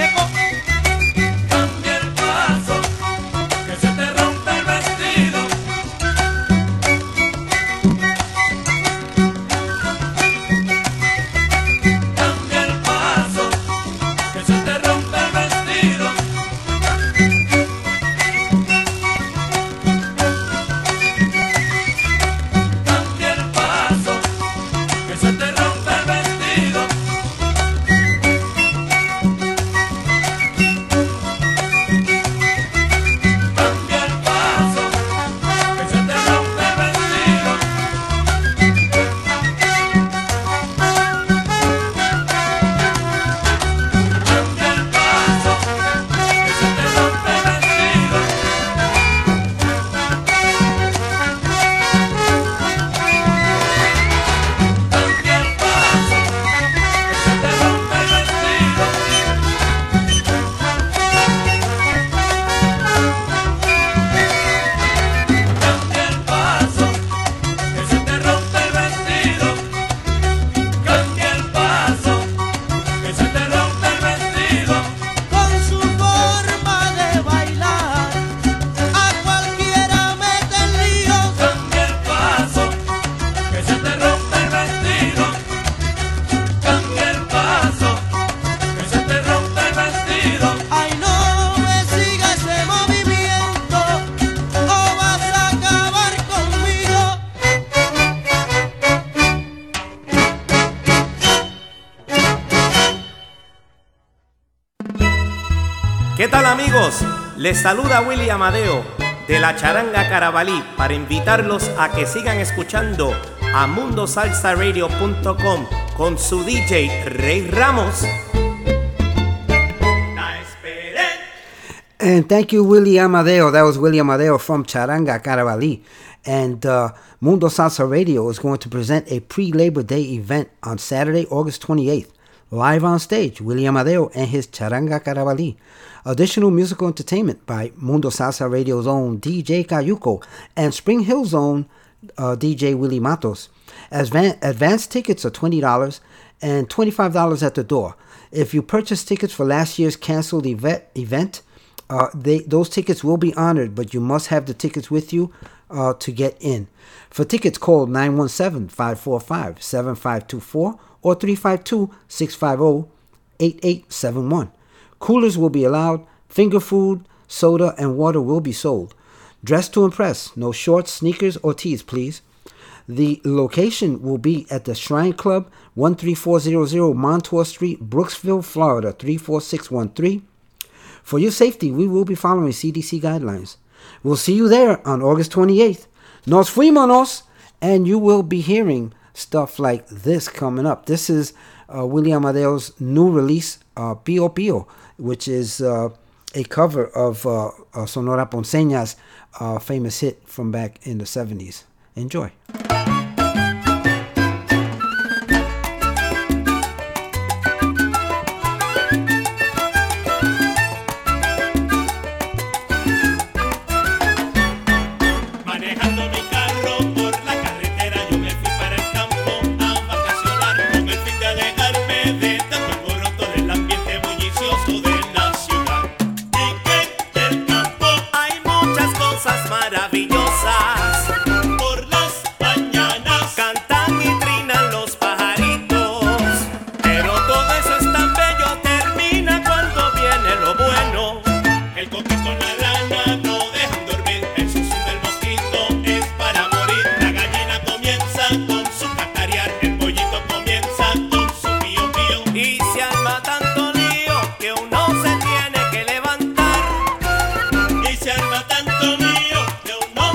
[SPEAKER 11] llegó. Cambia el paso, que se te rompe el vestido. Cambia el paso, que se te rompe el vestido. Cambia el paso, que se te rompe el vestido. Cambia el paso, que se te rompe el vestido. Cambia el paso, que se te rompe el vestido. Cambia el paso, que se te rompe el vestido. Cambia el paso, que se te rompe el vestido. Cambia el paso, que se te rompe el vestido.
[SPEAKER 9] Con su forma de bailar, a cualquiera mete en lío.
[SPEAKER 11] Cambia el paso, que se te rompe el vestido. Cambia el paso, que se te rompe el vestido.
[SPEAKER 9] Ay, no me siga ese movimiento, o vas a acabar conmigo.
[SPEAKER 13] ¿Qué tal, amigos? Les saluda Willy Amadeo de la Charanga Carabalí para invitarlos a que sigan escuchando a mundosalsaradio.com con su DJ Rey Ramos.
[SPEAKER 1] And thank you, Willie Amadeo. That was Willie Amadeo from Charanga Carabalí. And Mundo Salsa Radio is going to present a pre-Labor Day event on Saturday, August 28th. Live on stage, Willie Amadeo and his Charanga Carabalí. Additional musical entertainment by Mundo Salsa Radio's own DJ Cayuco and Spring Hill's own DJ Willie Matos. Advance tickets are $20 and $25 at the door. If you purchase tickets for last year's canceled event, those tickets will be honored, but you must have the tickets with you to get in. For tickets, call 917-545-7524 or 352-650-8871. Coolers will be allowed. Finger food, soda, and water will be sold. Dress to impress. No shorts, sneakers, or tees, please. The location will be at the Shrine Club, 13400 Montour Street, Brooksville, Florida, 34613. For your safety, we will be following CDC guidelines. We'll see you there on August 28th. Nos fuimos! And you will be hearing stuff like this coming up. This is Willie Amadeo's new release, Pio Pio, which is a cover of Sonora Ponceña's famous hit from back in the 70s. Enjoy.
[SPEAKER 11] Manejando mi carro por la carretera, yo me fui para el campo a vacacionar con el fin de alejarme de tanto alboroto del ambiente bullicioso de la ciudad. Y que en el campo
[SPEAKER 13] Hay muchas cosas maravillosas.
[SPEAKER 11] por las mañanas
[SPEAKER 13] Cantan y trinan los pajaritos. Pero todo eso es tan bello, termina cuando viene lo bueno.
[SPEAKER 11] el coquito con la rana no dejan dormir. El susurro del mosquito es para morir. La gallina comienza con su cacarear. El pollito comienza con su pío pío.
[SPEAKER 13] Y se arma tanto lío que uno se tiene que levantar.
[SPEAKER 11] Y se arma tanto lío que uno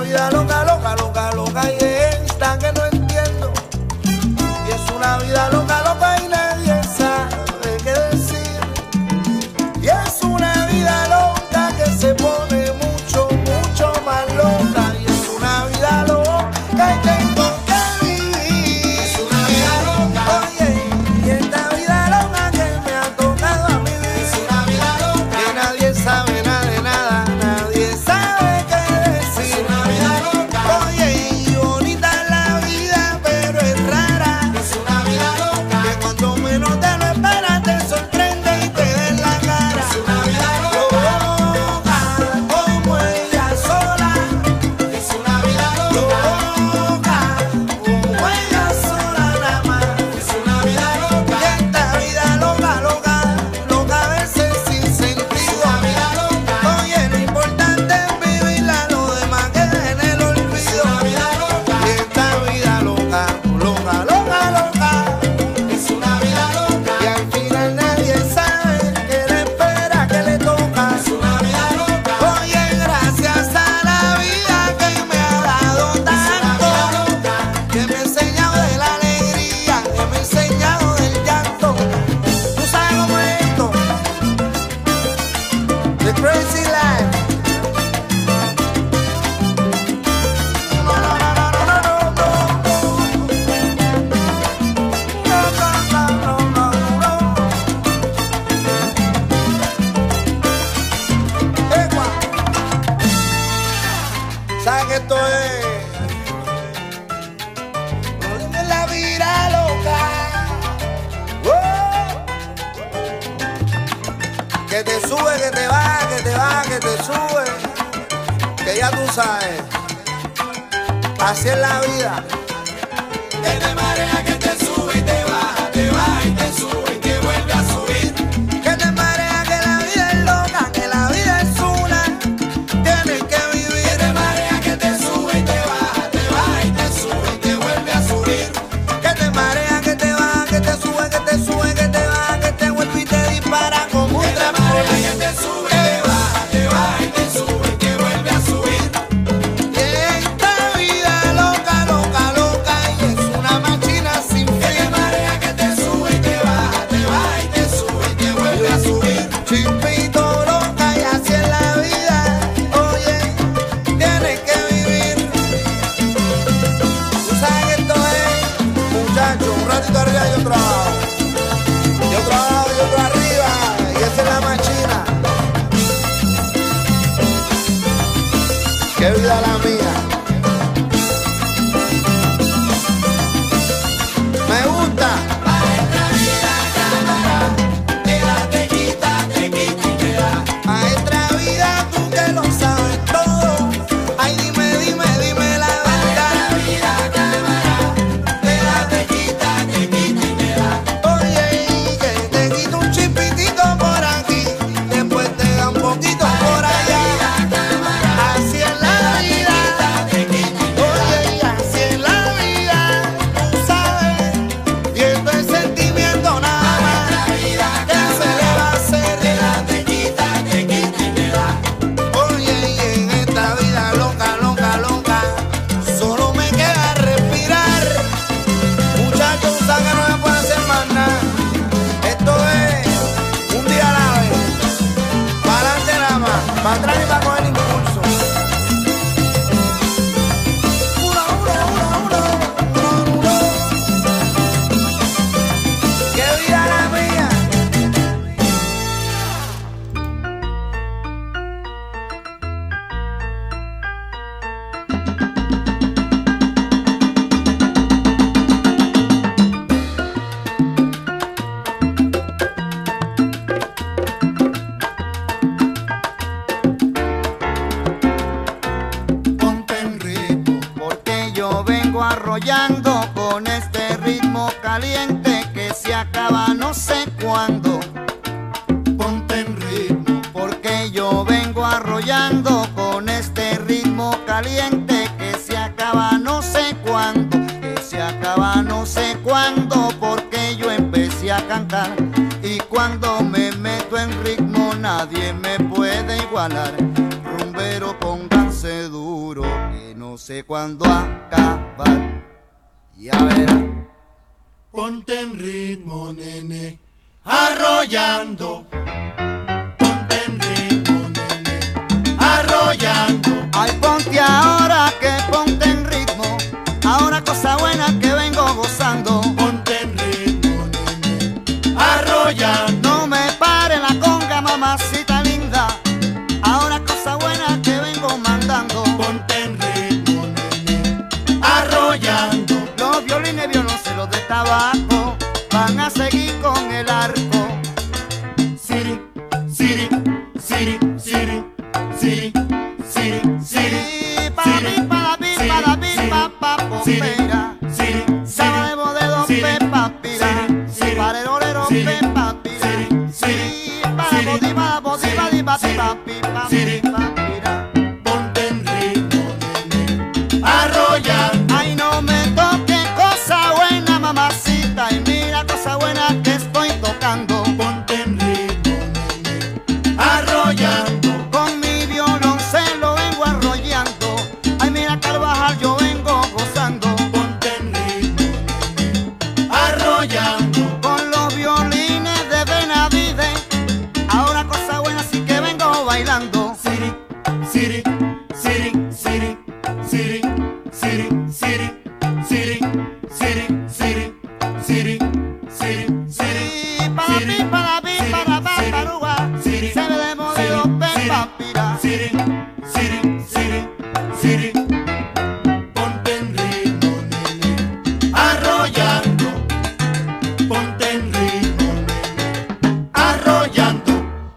[SPEAKER 9] vida loca, loca, loca, loca y esta que no entiendo. Y es una vida loca, loca y nadie sabe qué decir. Y es una vida loca que se pone mucho, mucho más loca. Y es una vida loca que tengo que vivir. Es una vida loca. Oye, y esta vida loca que me ha tocado a mí. Es una vida loca que nadie sabe nada de nada, nadie sabe qué decir. Es una vida loca. Oye, y bonita es la vida, pero es rara. Es una vida loca que cuando menos te lo esperas te sorprende y te da en la cara. Es una vida loca, como ella sola. Es una vida loca, como ella sola nada más. Es una vida loca. Y esta vida loca, loca, loca a veces sin sentido. Es una vida loca. Oye, lo importante es vivirla, lo demás queda en el olvido. Es una vida loca. Y esta vida loca, loca, loca, loca. Es una vida loca. Y al final nadie sabe qué le espera, qué le toca. Es una vida loca. Oye, gracias a la vida que me ha dado tanto, que me ha enseñado de la alegría, que me ha enseñado del llanto. ¿Tú sabes cómo es esto? The crazy life. No, no, no, no, no, no, no, no. No, no, no, no, no. Ecua. ¿Sabes que esto es? No dime la vida loca. Que te sube, que te baja, que te baja, que te sube. Que ya tú sabes. Así es la vida. Que te marea, que te sube y te baja y te sube y te vuelve a subir. Que te marea, que la vida es loca, que la vida es una. Tienes que vivir. Que te marea, que te sube y te baja y te sube y te vuelve a subir. Que te marea, que te baja, que te sube, que te sube, que te baja, que te vuelve y te dispara como un trampolín. Que te sube, te baja y te sube y te vuelve a subir. Y esta vida loca, loca, loca y es una máquina sin fin. Que te marea, que te sube y te baja y te sube y te vuelve a subir. Chispito loca y así es la vida. Oye, tienes que vivir. Tú sabes que esto es, muchachos, un ratito arriba y otro abajo. Y otro abajo y otro arriba. Y esa es la machina. Qué vida la mía. Me gusta. Maestra vida, cámara, te da, te quita y te da. Maestra vida, tú que lo sabes todo. Ay, dime, dime, dime la verdad. Maestra vida, cámara, te da, te quita y te da. Oye, y que te quita un chipitito por aquí, después te da un poquito por allá. Así es la vida. Oye, y así es la vida. Tú sabes, y esto es sentimiento nada más. ¿Qué se le va a hacer? Te da, te quita y te da. Oye, y en esta vida loca, loca, loca, solo me queda respirar. Muchachos, tú sabes que no me puede hacer más nada. Esto es un día a la vez. Para adelante nada más, para atrás y para coger impulso. Uno. ¡Qué vida la mía! Ponte en ritmo, porque yo vengo arrollando con este ritmo caliente que se acaba no sé cuándo. Ponte en ritmo, porque yo vengo arrollando con este ritmo caliente que se acaba no sé cuándo, que se acaba no sé cuándo, porque yo empecé a cantar y cuando me meto en ritmo nadie me puede igualar. Rumbero, pónganse duro, que no
[SPEAKER 7] no sé cuándo acabar. Ya verás.
[SPEAKER 14] Ponte en ritmo, nene, arrollando. Ponte en ritmo, nene, arrollando.
[SPEAKER 7] Ay, ponte ahora que ponte en ritmo. Ahora cosa buena que vengo gozando.
[SPEAKER 14] Ponte en ritmo, nene, arrollando.
[SPEAKER 7] No me pare la conga, mamacita linda. Ahora cosa buena que vengo mandando.
[SPEAKER 14] Ponte en ritmo, nene, arrollando.
[SPEAKER 7] Los violines, violoncelos de tabaco van a seguir con el arco.
[SPEAKER 14] Siri, Siri, Siri, Siri, Siri, Siri, Siri.
[SPEAKER 7] Para mí, para mí, para mí, papá, popera. Sabemos de dos pepas, pira. Para el olero, pepa, pira. Para bodi, para bodi, para pipa, pipa, pira.
[SPEAKER 14] Ponte en ritmo, nene, arrollando.
[SPEAKER 7] Ay, no me toque cosa buena, mamacita. Y mira cosa buena que estoy tocando.
[SPEAKER 14] Ponte en ritmo, nene, arrollando.
[SPEAKER 7] Con mi violoncelo vengo arrollando. Ay, mira Carvajal, yo vengo gozando.
[SPEAKER 14] Ponte en ritmo, nene, arrollando.
[SPEAKER 7] Con los violines de Benavide, ahora cosa buena sí que vengo bailando.
[SPEAKER 14] Siri, Siri, Siri, Siri, Siri, Siri, Siri, Siri, Siri, Siri, Siri, Siri, Siri.
[SPEAKER 7] Para mí, para mí, para Paruga, se ve de modelo pepa, pira.
[SPEAKER 14] Siri, Siri, Siri, Siri. Ponte en ritmo, nene, arrollando. Ponte en ritmo, nene, arrollando.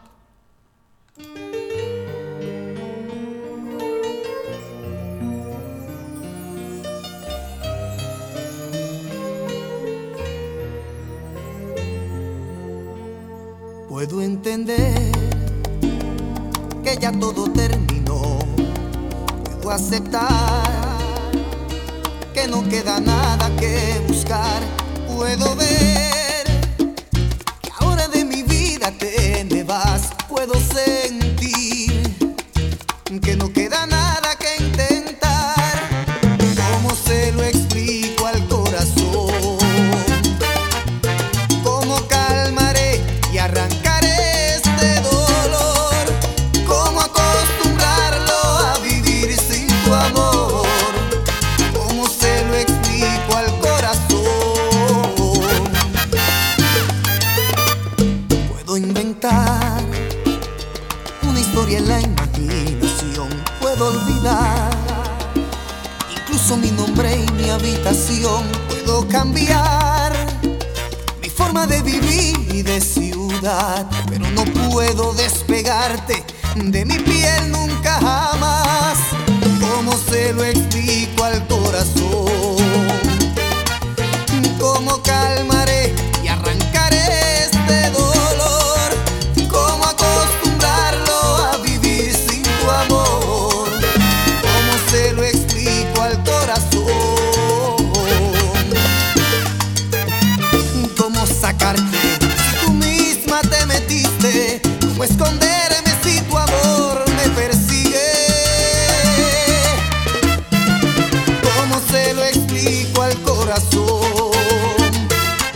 [SPEAKER 8] Puedo entender que ya todo terminó. Puedo aceptar que no queda nada que buscar. Puedo ver que ahora de mi vida te me vas. Puedo sentir que no queda nada que intentar. ¿Cómo se lo explico al corazón? ¿Cómo calmaré y arrancaré este dolor? ¿Cómo acostumbrarlo a vivir sin tu amor? ¿Cómo se lo explico al corazón? Puedo inventar una historia en la imaginación. Puedo olvidar incluso mi nombre y mi habitación. Puedo cambiar mi forma de vivir y de ciudad, pero no puedo despegarte de mi piel nunca jamás. ¿Cómo se lo explico al corazón? ¿Cómo calmaré y arrancaré este dolor? ¿Cómo acostumbrarlo a vivir sin tu amor? ¿Cómo se lo explico al corazón? ¿Cómo sacarte si tú misma te metiste? ¿Cómo esconderme si tu amor me persigue? ¿Cómo se lo explico al corazón?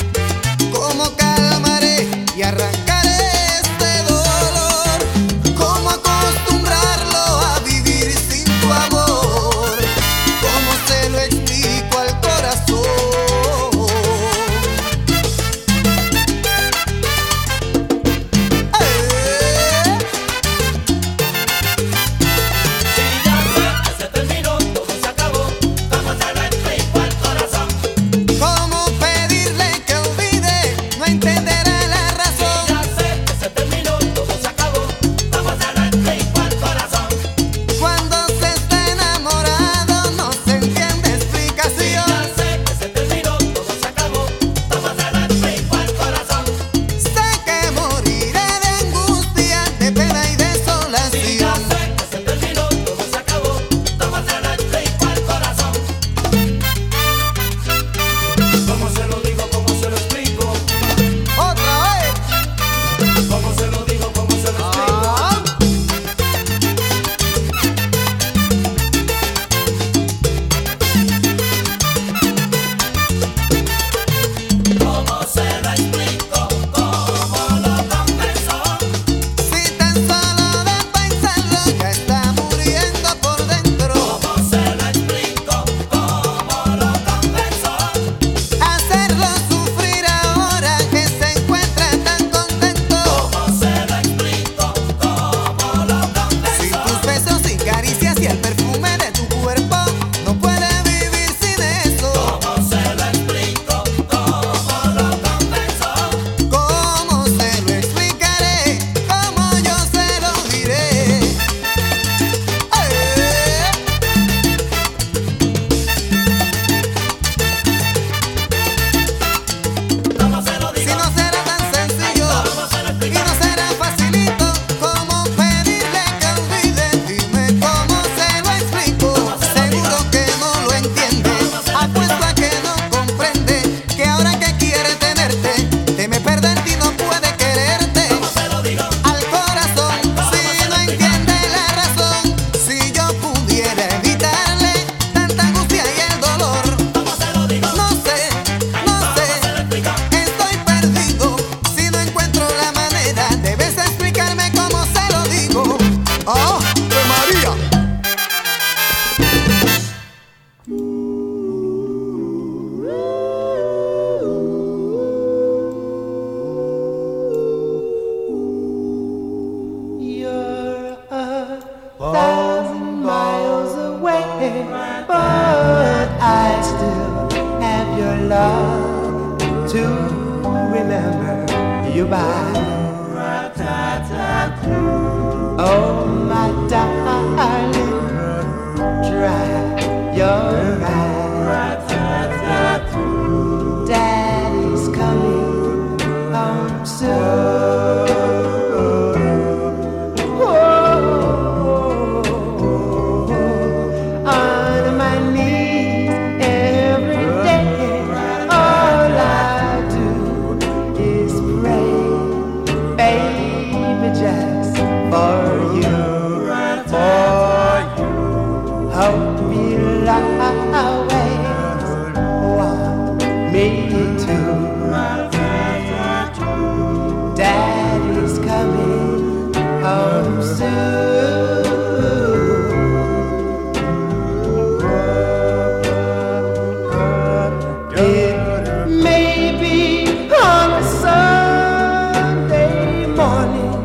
[SPEAKER 8] 1,000 miles away, but I still have your love to remember you by. Oh, my darling, dry your eyes. Daddy's coming home soon. On my knees every day, all I do is pray, baby, just for you, hope you'll always want me to. Daddy's coming home soon. It may be on a Sunday morning,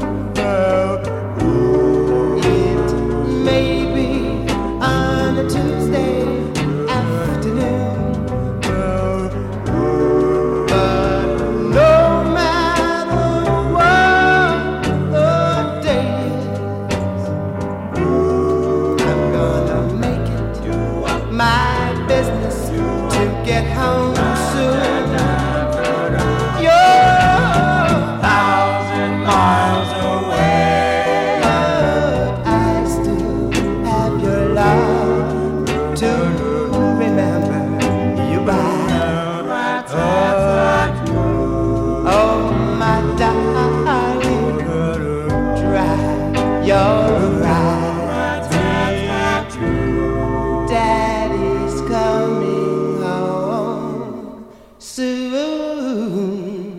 [SPEAKER 8] it may be on a Tuesday afternoon, but no matter what the day is, I'm gonna make it my business to get home soon. You're 1,000 miles away, but I still have your love to remember you by. Oh, my darling, dry your eyes. Daddy's coming home soon.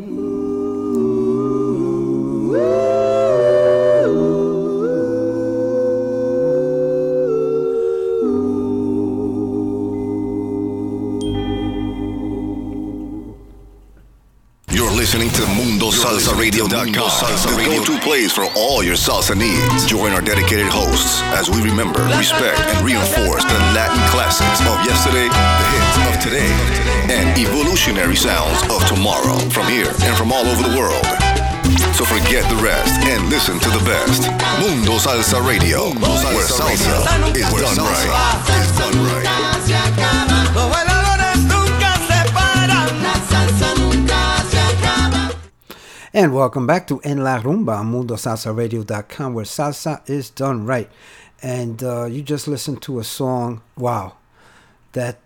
[SPEAKER 6] You're listening to MundoSalsaRadio.com, the go-to place for all your salsa needs. Join our dedicated hosts as we remember, respect, and reinforce the Latin classics of yesterday, the hits of today, and evolutionary sounds of tomorrow from here and from all over the world. So forget the rest and listen to the best. Mundo Salsa Radio, where salsa is done right. Is done right.
[SPEAKER 11] Los bailadores nunca se paran. La salsa nunca se acaba.
[SPEAKER 1] And welcome back to En La Rumba on MundoSalsaRadio.com, where salsa is done right. And you just listened to a song. Wow, that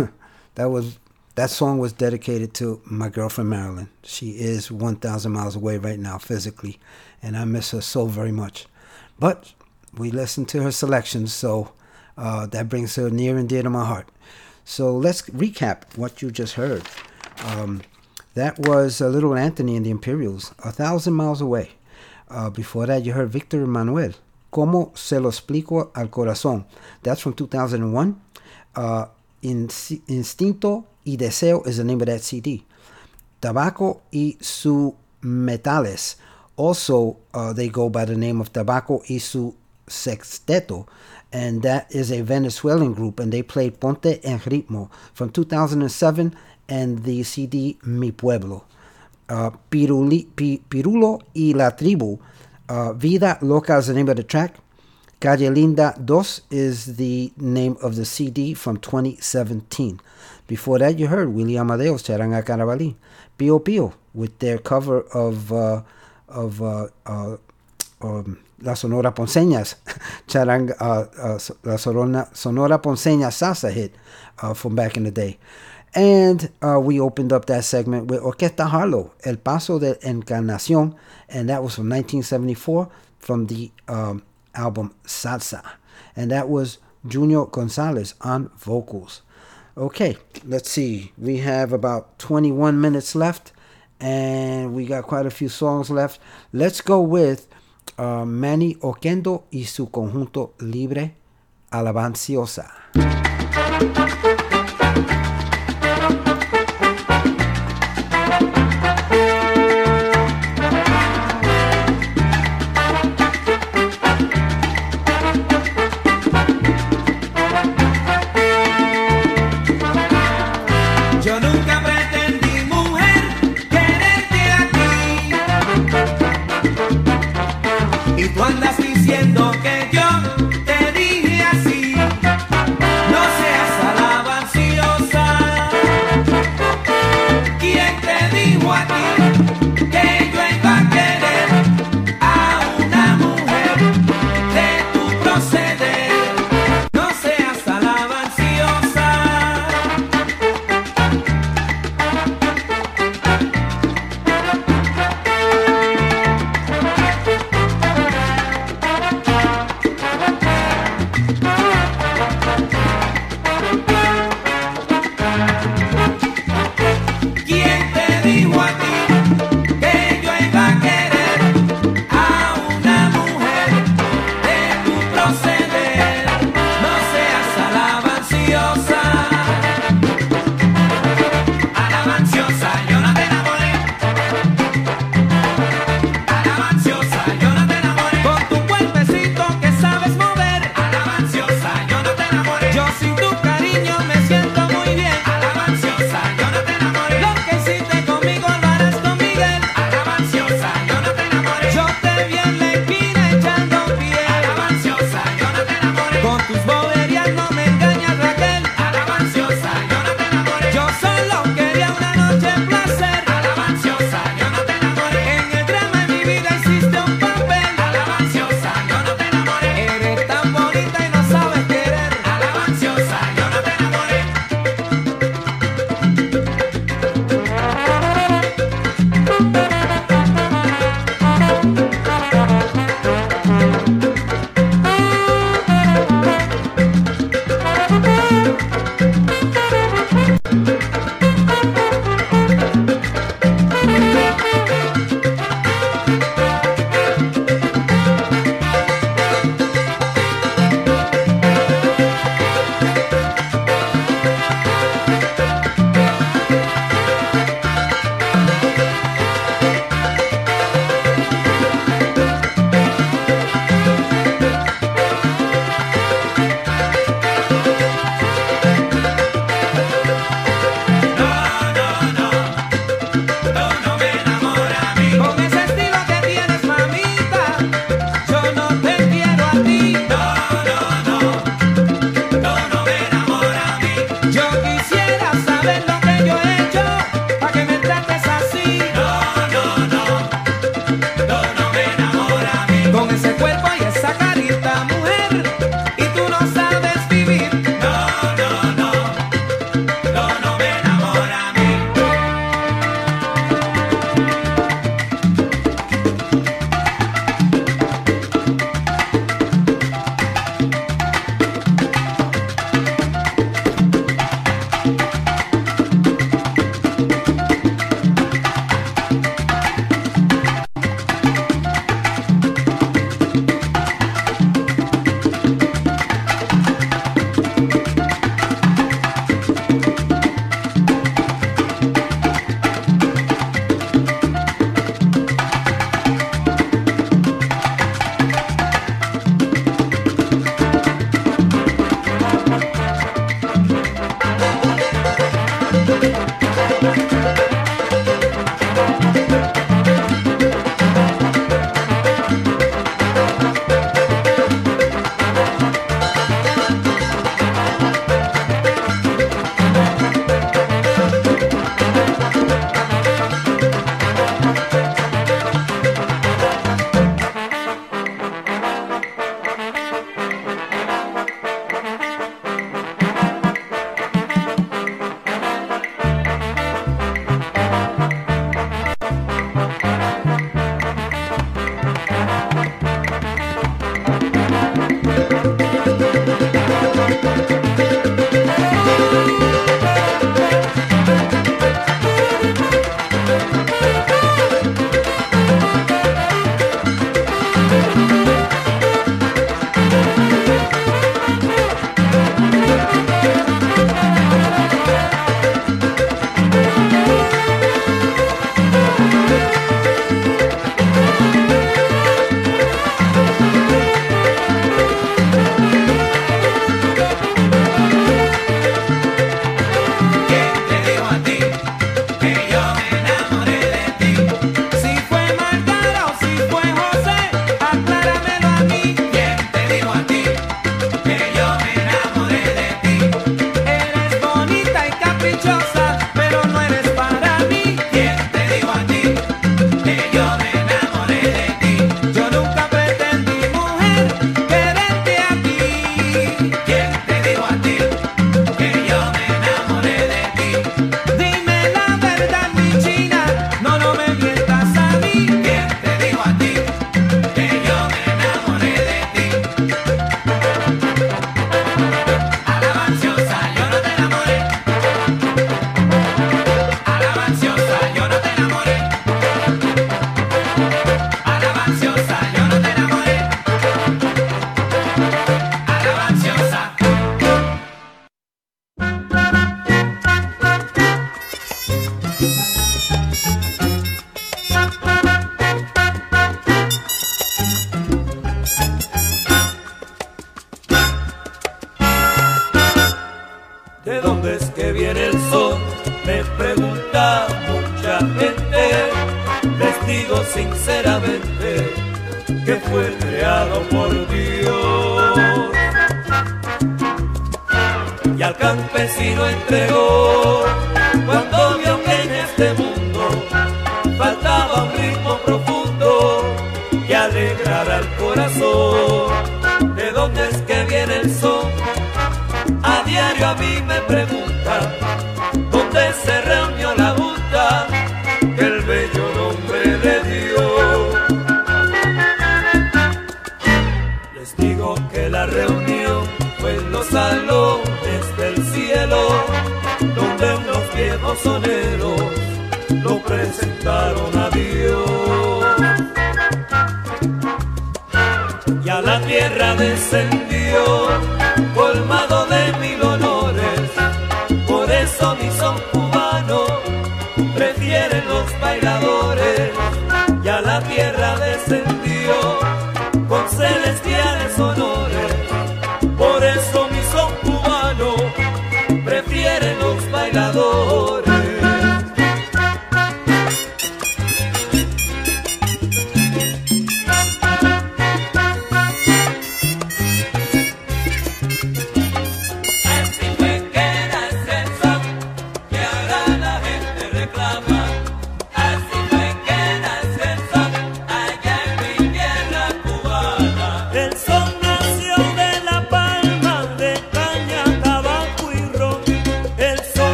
[SPEAKER 1] song was dedicated to my girlfriend Marilyn. She is 1,000 miles away right now physically, and I miss her so very much. But we listened to her selections, so that brings her near and dear to my heart. So let's recap what you just heard. That was Little Anthony and the Imperials, 1,000 miles away. Before that, you heard Victor Manuel, Como se lo explico al corazón. That's from 2001. Instinto y Deseo is the name of that CD. Tabaco y su Metales. Also, they go by the name of Tabaco y su Sexteto. And that is a Venezuelan group, and they played Ponte en Ritmo from 2007 and the CD Mi Pueblo. Pirulo y la Tribu. Vida Loca is the name of the track. Calle Linda 2 is the name of the CD from 2017. Before that, you heard Willie Amadeo's Charanga Carabalí. Pio Pio with their cover of La Sonora Ponceñas, La Sonora Ponceña salsa hit from back in the day. And we opened up that segment with Orquesta Harlow, El Paso de Encarnación, and that was from 1974 from the album Salsa. And that was Junior Gonzalez on vocals. Okay, let's see. We have about 21 minutes left, and we got quite a few songs left. Let's go with Manny Oquendo y su conjunto Libre Alabanciosa.
[SPEAKER 5] Y tú andas diciendo que yo te dije así. No seas alabanciosa. ¿Quién te dijo a ti que yo iba a querer a una mujer de tu proceder? No seas alabanciosa.
[SPEAKER 11] ¿de dónde es que viene el sol? Me pregunta mucha gente. Les digo sinceramente que fue creado por Dios. Y al campesino entregó cuando vio que en este mundo faltaba un ritmo profundo que alegrara el corazón. ¿De dónde es que viene el son? A diario a mí me pregunta dónde se reunió la junta que el bello nombre le dio. Les digo que la reunión fue en los salones del cielo, donde unos viejos soneros lo presentaron a Dios. Y a la tierra descendió colmado de 1000 honores. Por eso mi son cubano prefieren los bailadores. Y a la tierra descendió con celestiales honores. Por eso mi son cubano prefieren los bailadores.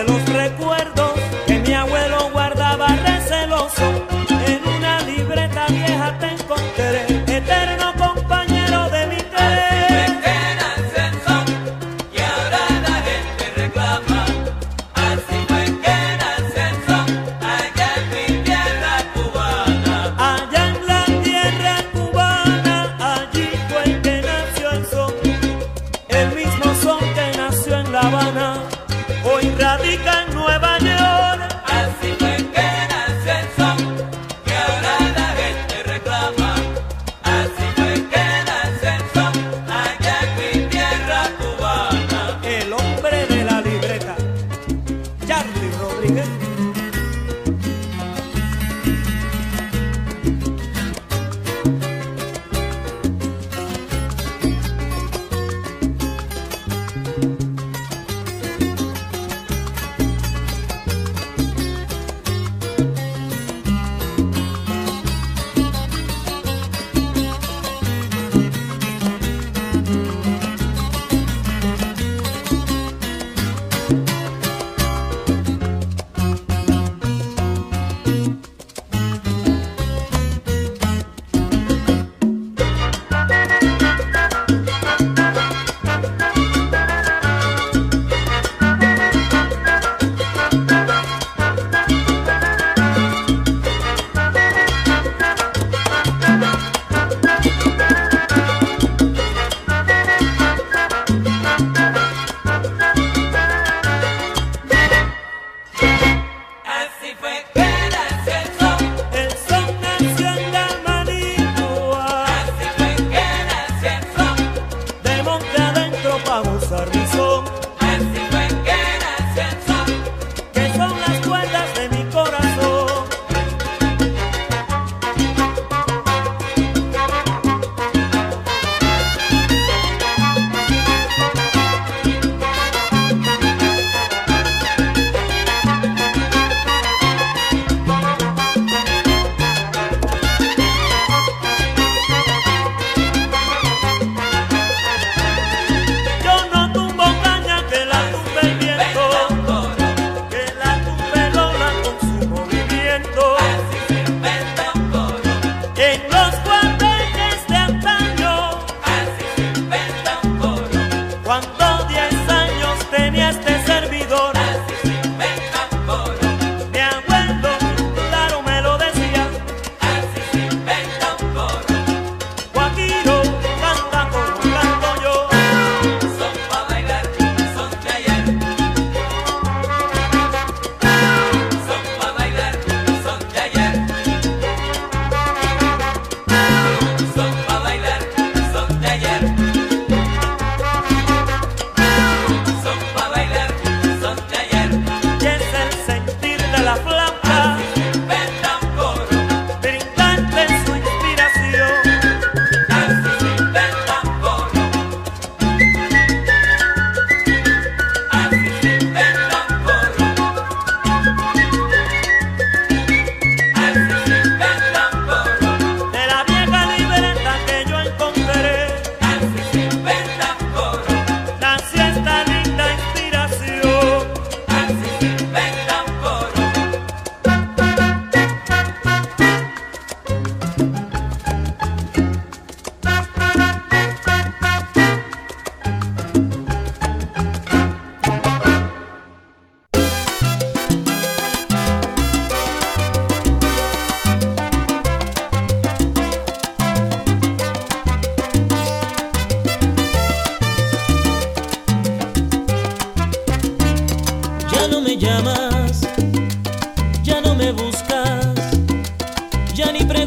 [SPEAKER 12] En una libreta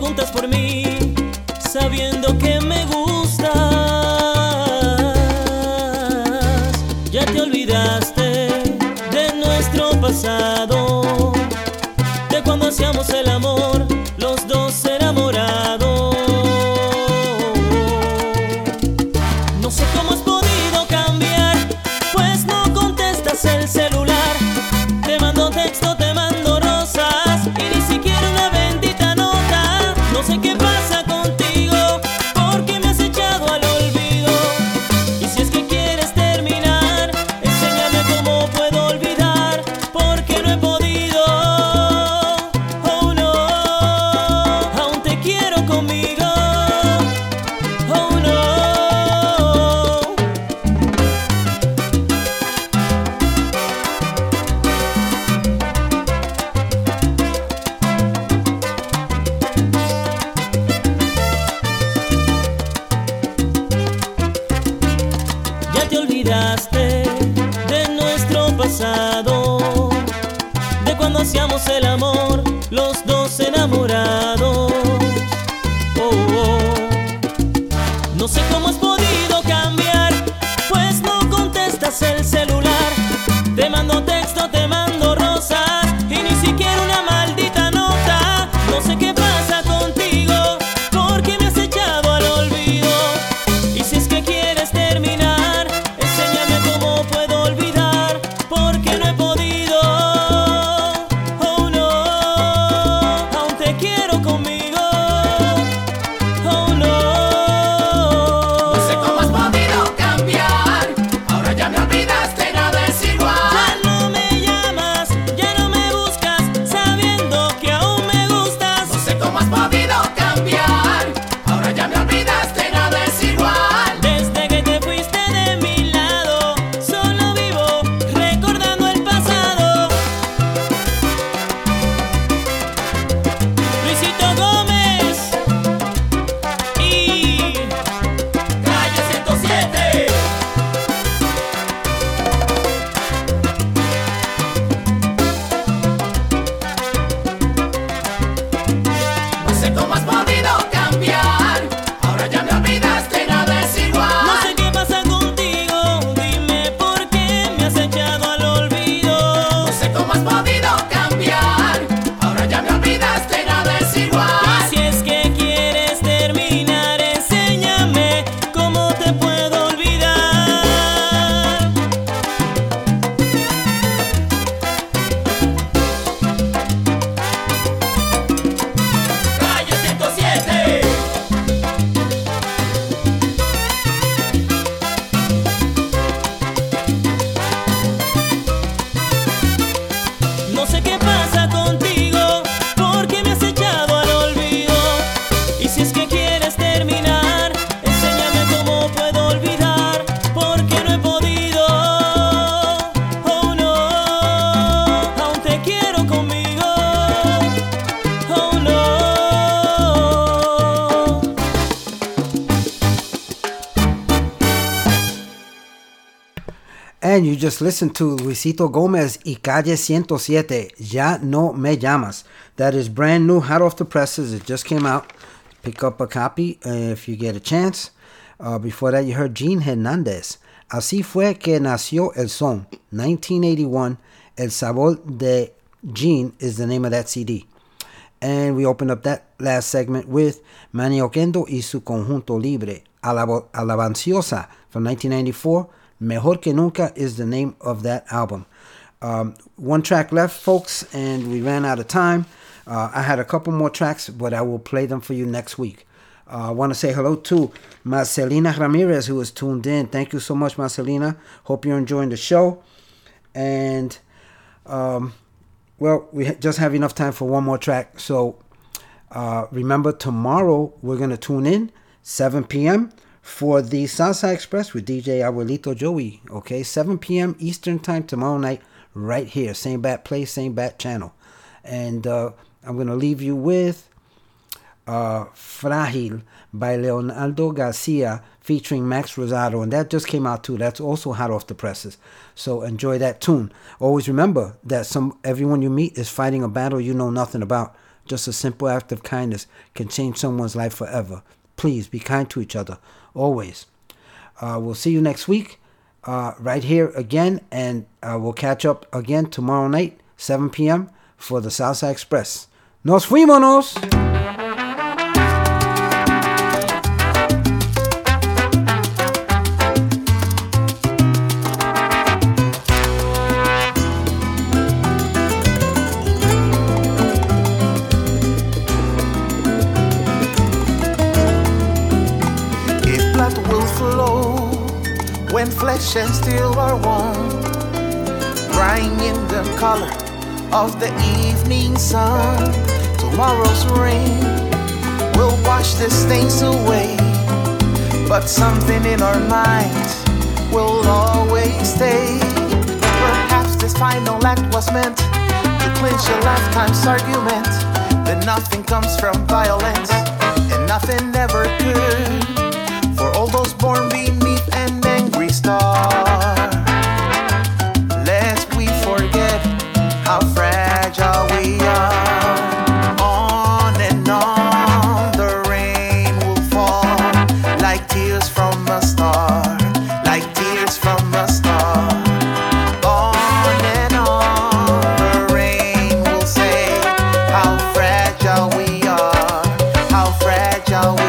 [SPEAKER 12] preguntas por mí, sabiendo que me gustas. Ya te olvidaste de nuestro pasado, de cuando hacíamos el amor, los dos enamorados. No sé cómo has podido cambiar, pues no contestas el celular. Te mando texto, te mando rosas y ni siquiera una bendita nota. No sé qué pasa contigo, porque me has echado al olvido. Y si es que quieres terminar, enséñame cómo puedo olvidar, porque no he podido. Oh no, aún te quiero conmigo. Oh no. Ya te olvidaste de nuestro pasado, de cuando hacíamos el amor, los dos enamorados. Oh, oh. No sé cómo has podido cambiar, pues no contestas el celular. Te mando texto, te mando rosas y ni siquiera una maldita nota. No sé qué pasa contigo, porque me has echado al olvido. Y si es que quieres terminar, enséñame cómo puedo olvidar, porque no he podido. Oh no, aún te quiero conmigo. Oh no.
[SPEAKER 9] No sé cómo has podido cambiar, ahora ya me olvidaste, nada es igual.
[SPEAKER 12] Ya no me llamas, ya no me buscas, sabiendo que aún me gustas.
[SPEAKER 9] No sé cómo has podido cambiar, ahora ya me olvidaste, nada es igual.
[SPEAKER 12] Desde que te fuiste de mi lado, solo vivo recordando el pasado. Luisito Gómez y
[SPEAKER 9] Calle 107. No sé cómo has podido cambiar, ahora ya me olvidaste, nada es igual.
[SPEAKER 12] no sé qué pasa contigo, dime por qué me has echado al olvido.
[SPEAKER 9] No sé cómo has podido cambiar, ahora ya me olvidaste, nada es igual.
[SPEAKER 12] Y si es que quieres terminar, enséñame cómo te puedo olvidar.
[SPEAKER 9] Calle 107.
[SPEAKER 12] No sé qué pasa contigo, porque me has echado al olvido. Y si es que quieres terminar, enséñame cómo puedo olvidar, porque no he podido. Oh no, aún te quiero conmigo. Oh no.
[SPEAKER 1] And you just listened to Luisito Gomez y Calle 107, Ya No Me Llamas. That is brand new, hot off the presses. It just came out. Pick up a copy if you get a chance. Before that, you heard Gene Hernandez. Así fue que nació el son. 1981. El sabor de Gene is the name of that CD. And we opened up that last segment with Manny Oquendo y su conjunto libre. Alabanciosa from 1994. Mejor que Nunca is the name of that album. One track left, folks, and we ran out of time. I had a couple more tracks, but I will play them for you next week. I want to say hello to Marcelina Ramirez, who is tuned in. Thank you so much, Marcelina. Hope you're enjoying the show. And, well, we just have enough time for one more track. So remember, tomorrow we're going to tune in, 7 p.m., for the Salsa Express with DJ Abuelito Joey. Okay, 7 p.m. Eastern Time tomorrow night, right here. Same bat place, same bat channel. And I'm going to leave you with Frágil by Leonardo Garcia featuring Max Rosado. And that just came out too. That's also hot off the presses. So enjoy that tune. Always remember that everyone you meet is fighting a battle you know nothing about. Just a simple act of kindness can change someone's life forever. Please be kind to each other, always. We'll see you next week, right here again, and we'll catch up again tomorrow night, 7 p.m. for the Salsa Express. ¡Nos fuímonos!
[SPEAKER 15] When flesh and steel are one, crying in the color of the evening sun. Tomorrow's rain will wash the stains away, but something in our minds will always stay. Perhaps this final act was meant to clinch a lifetime's argument, that nothing comes from violence and nothing ever could. For all those born beneath an angry star, lest we forget how fragile we are. On and on the rain will fall, like tears from a star, like tears from a star. On and on the rain will say how fragile we are, how fragile we are.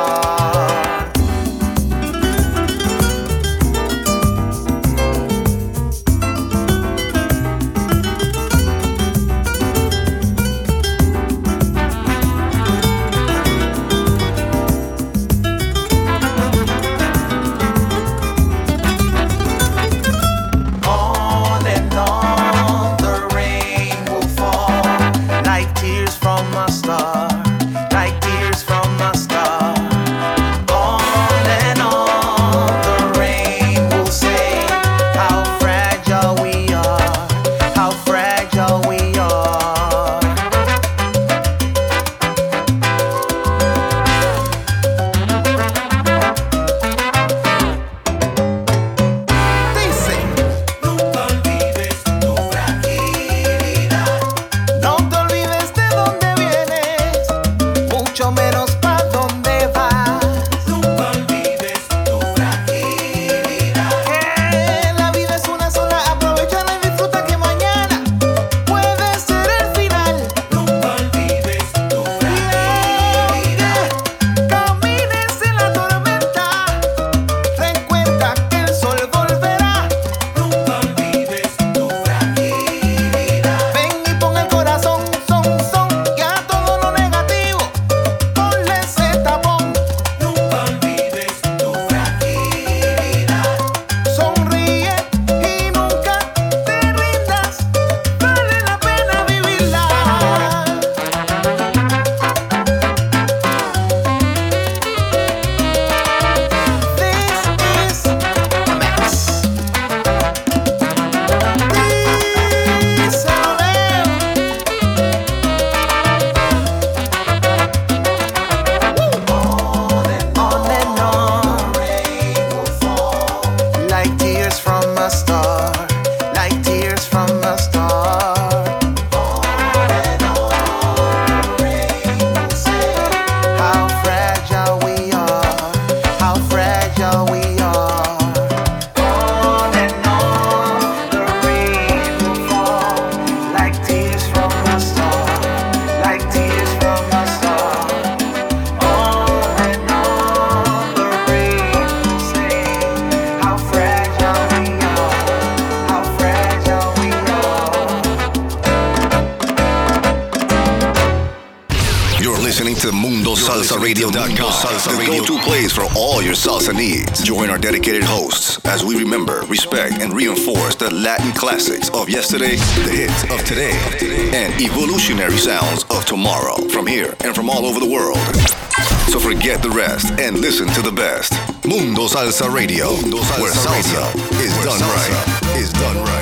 [SPEAKER 6] The go-to place for all your salsa needs. Join our dedicated hosts as we remember, respect, and reinforce the Latin classics of yesterday, the hits of today, and evolutionary sounds of tomorrow from here and from all over the world. So forget the rest and listen to the best. Mundo Salsa Radio, where salsa is done right.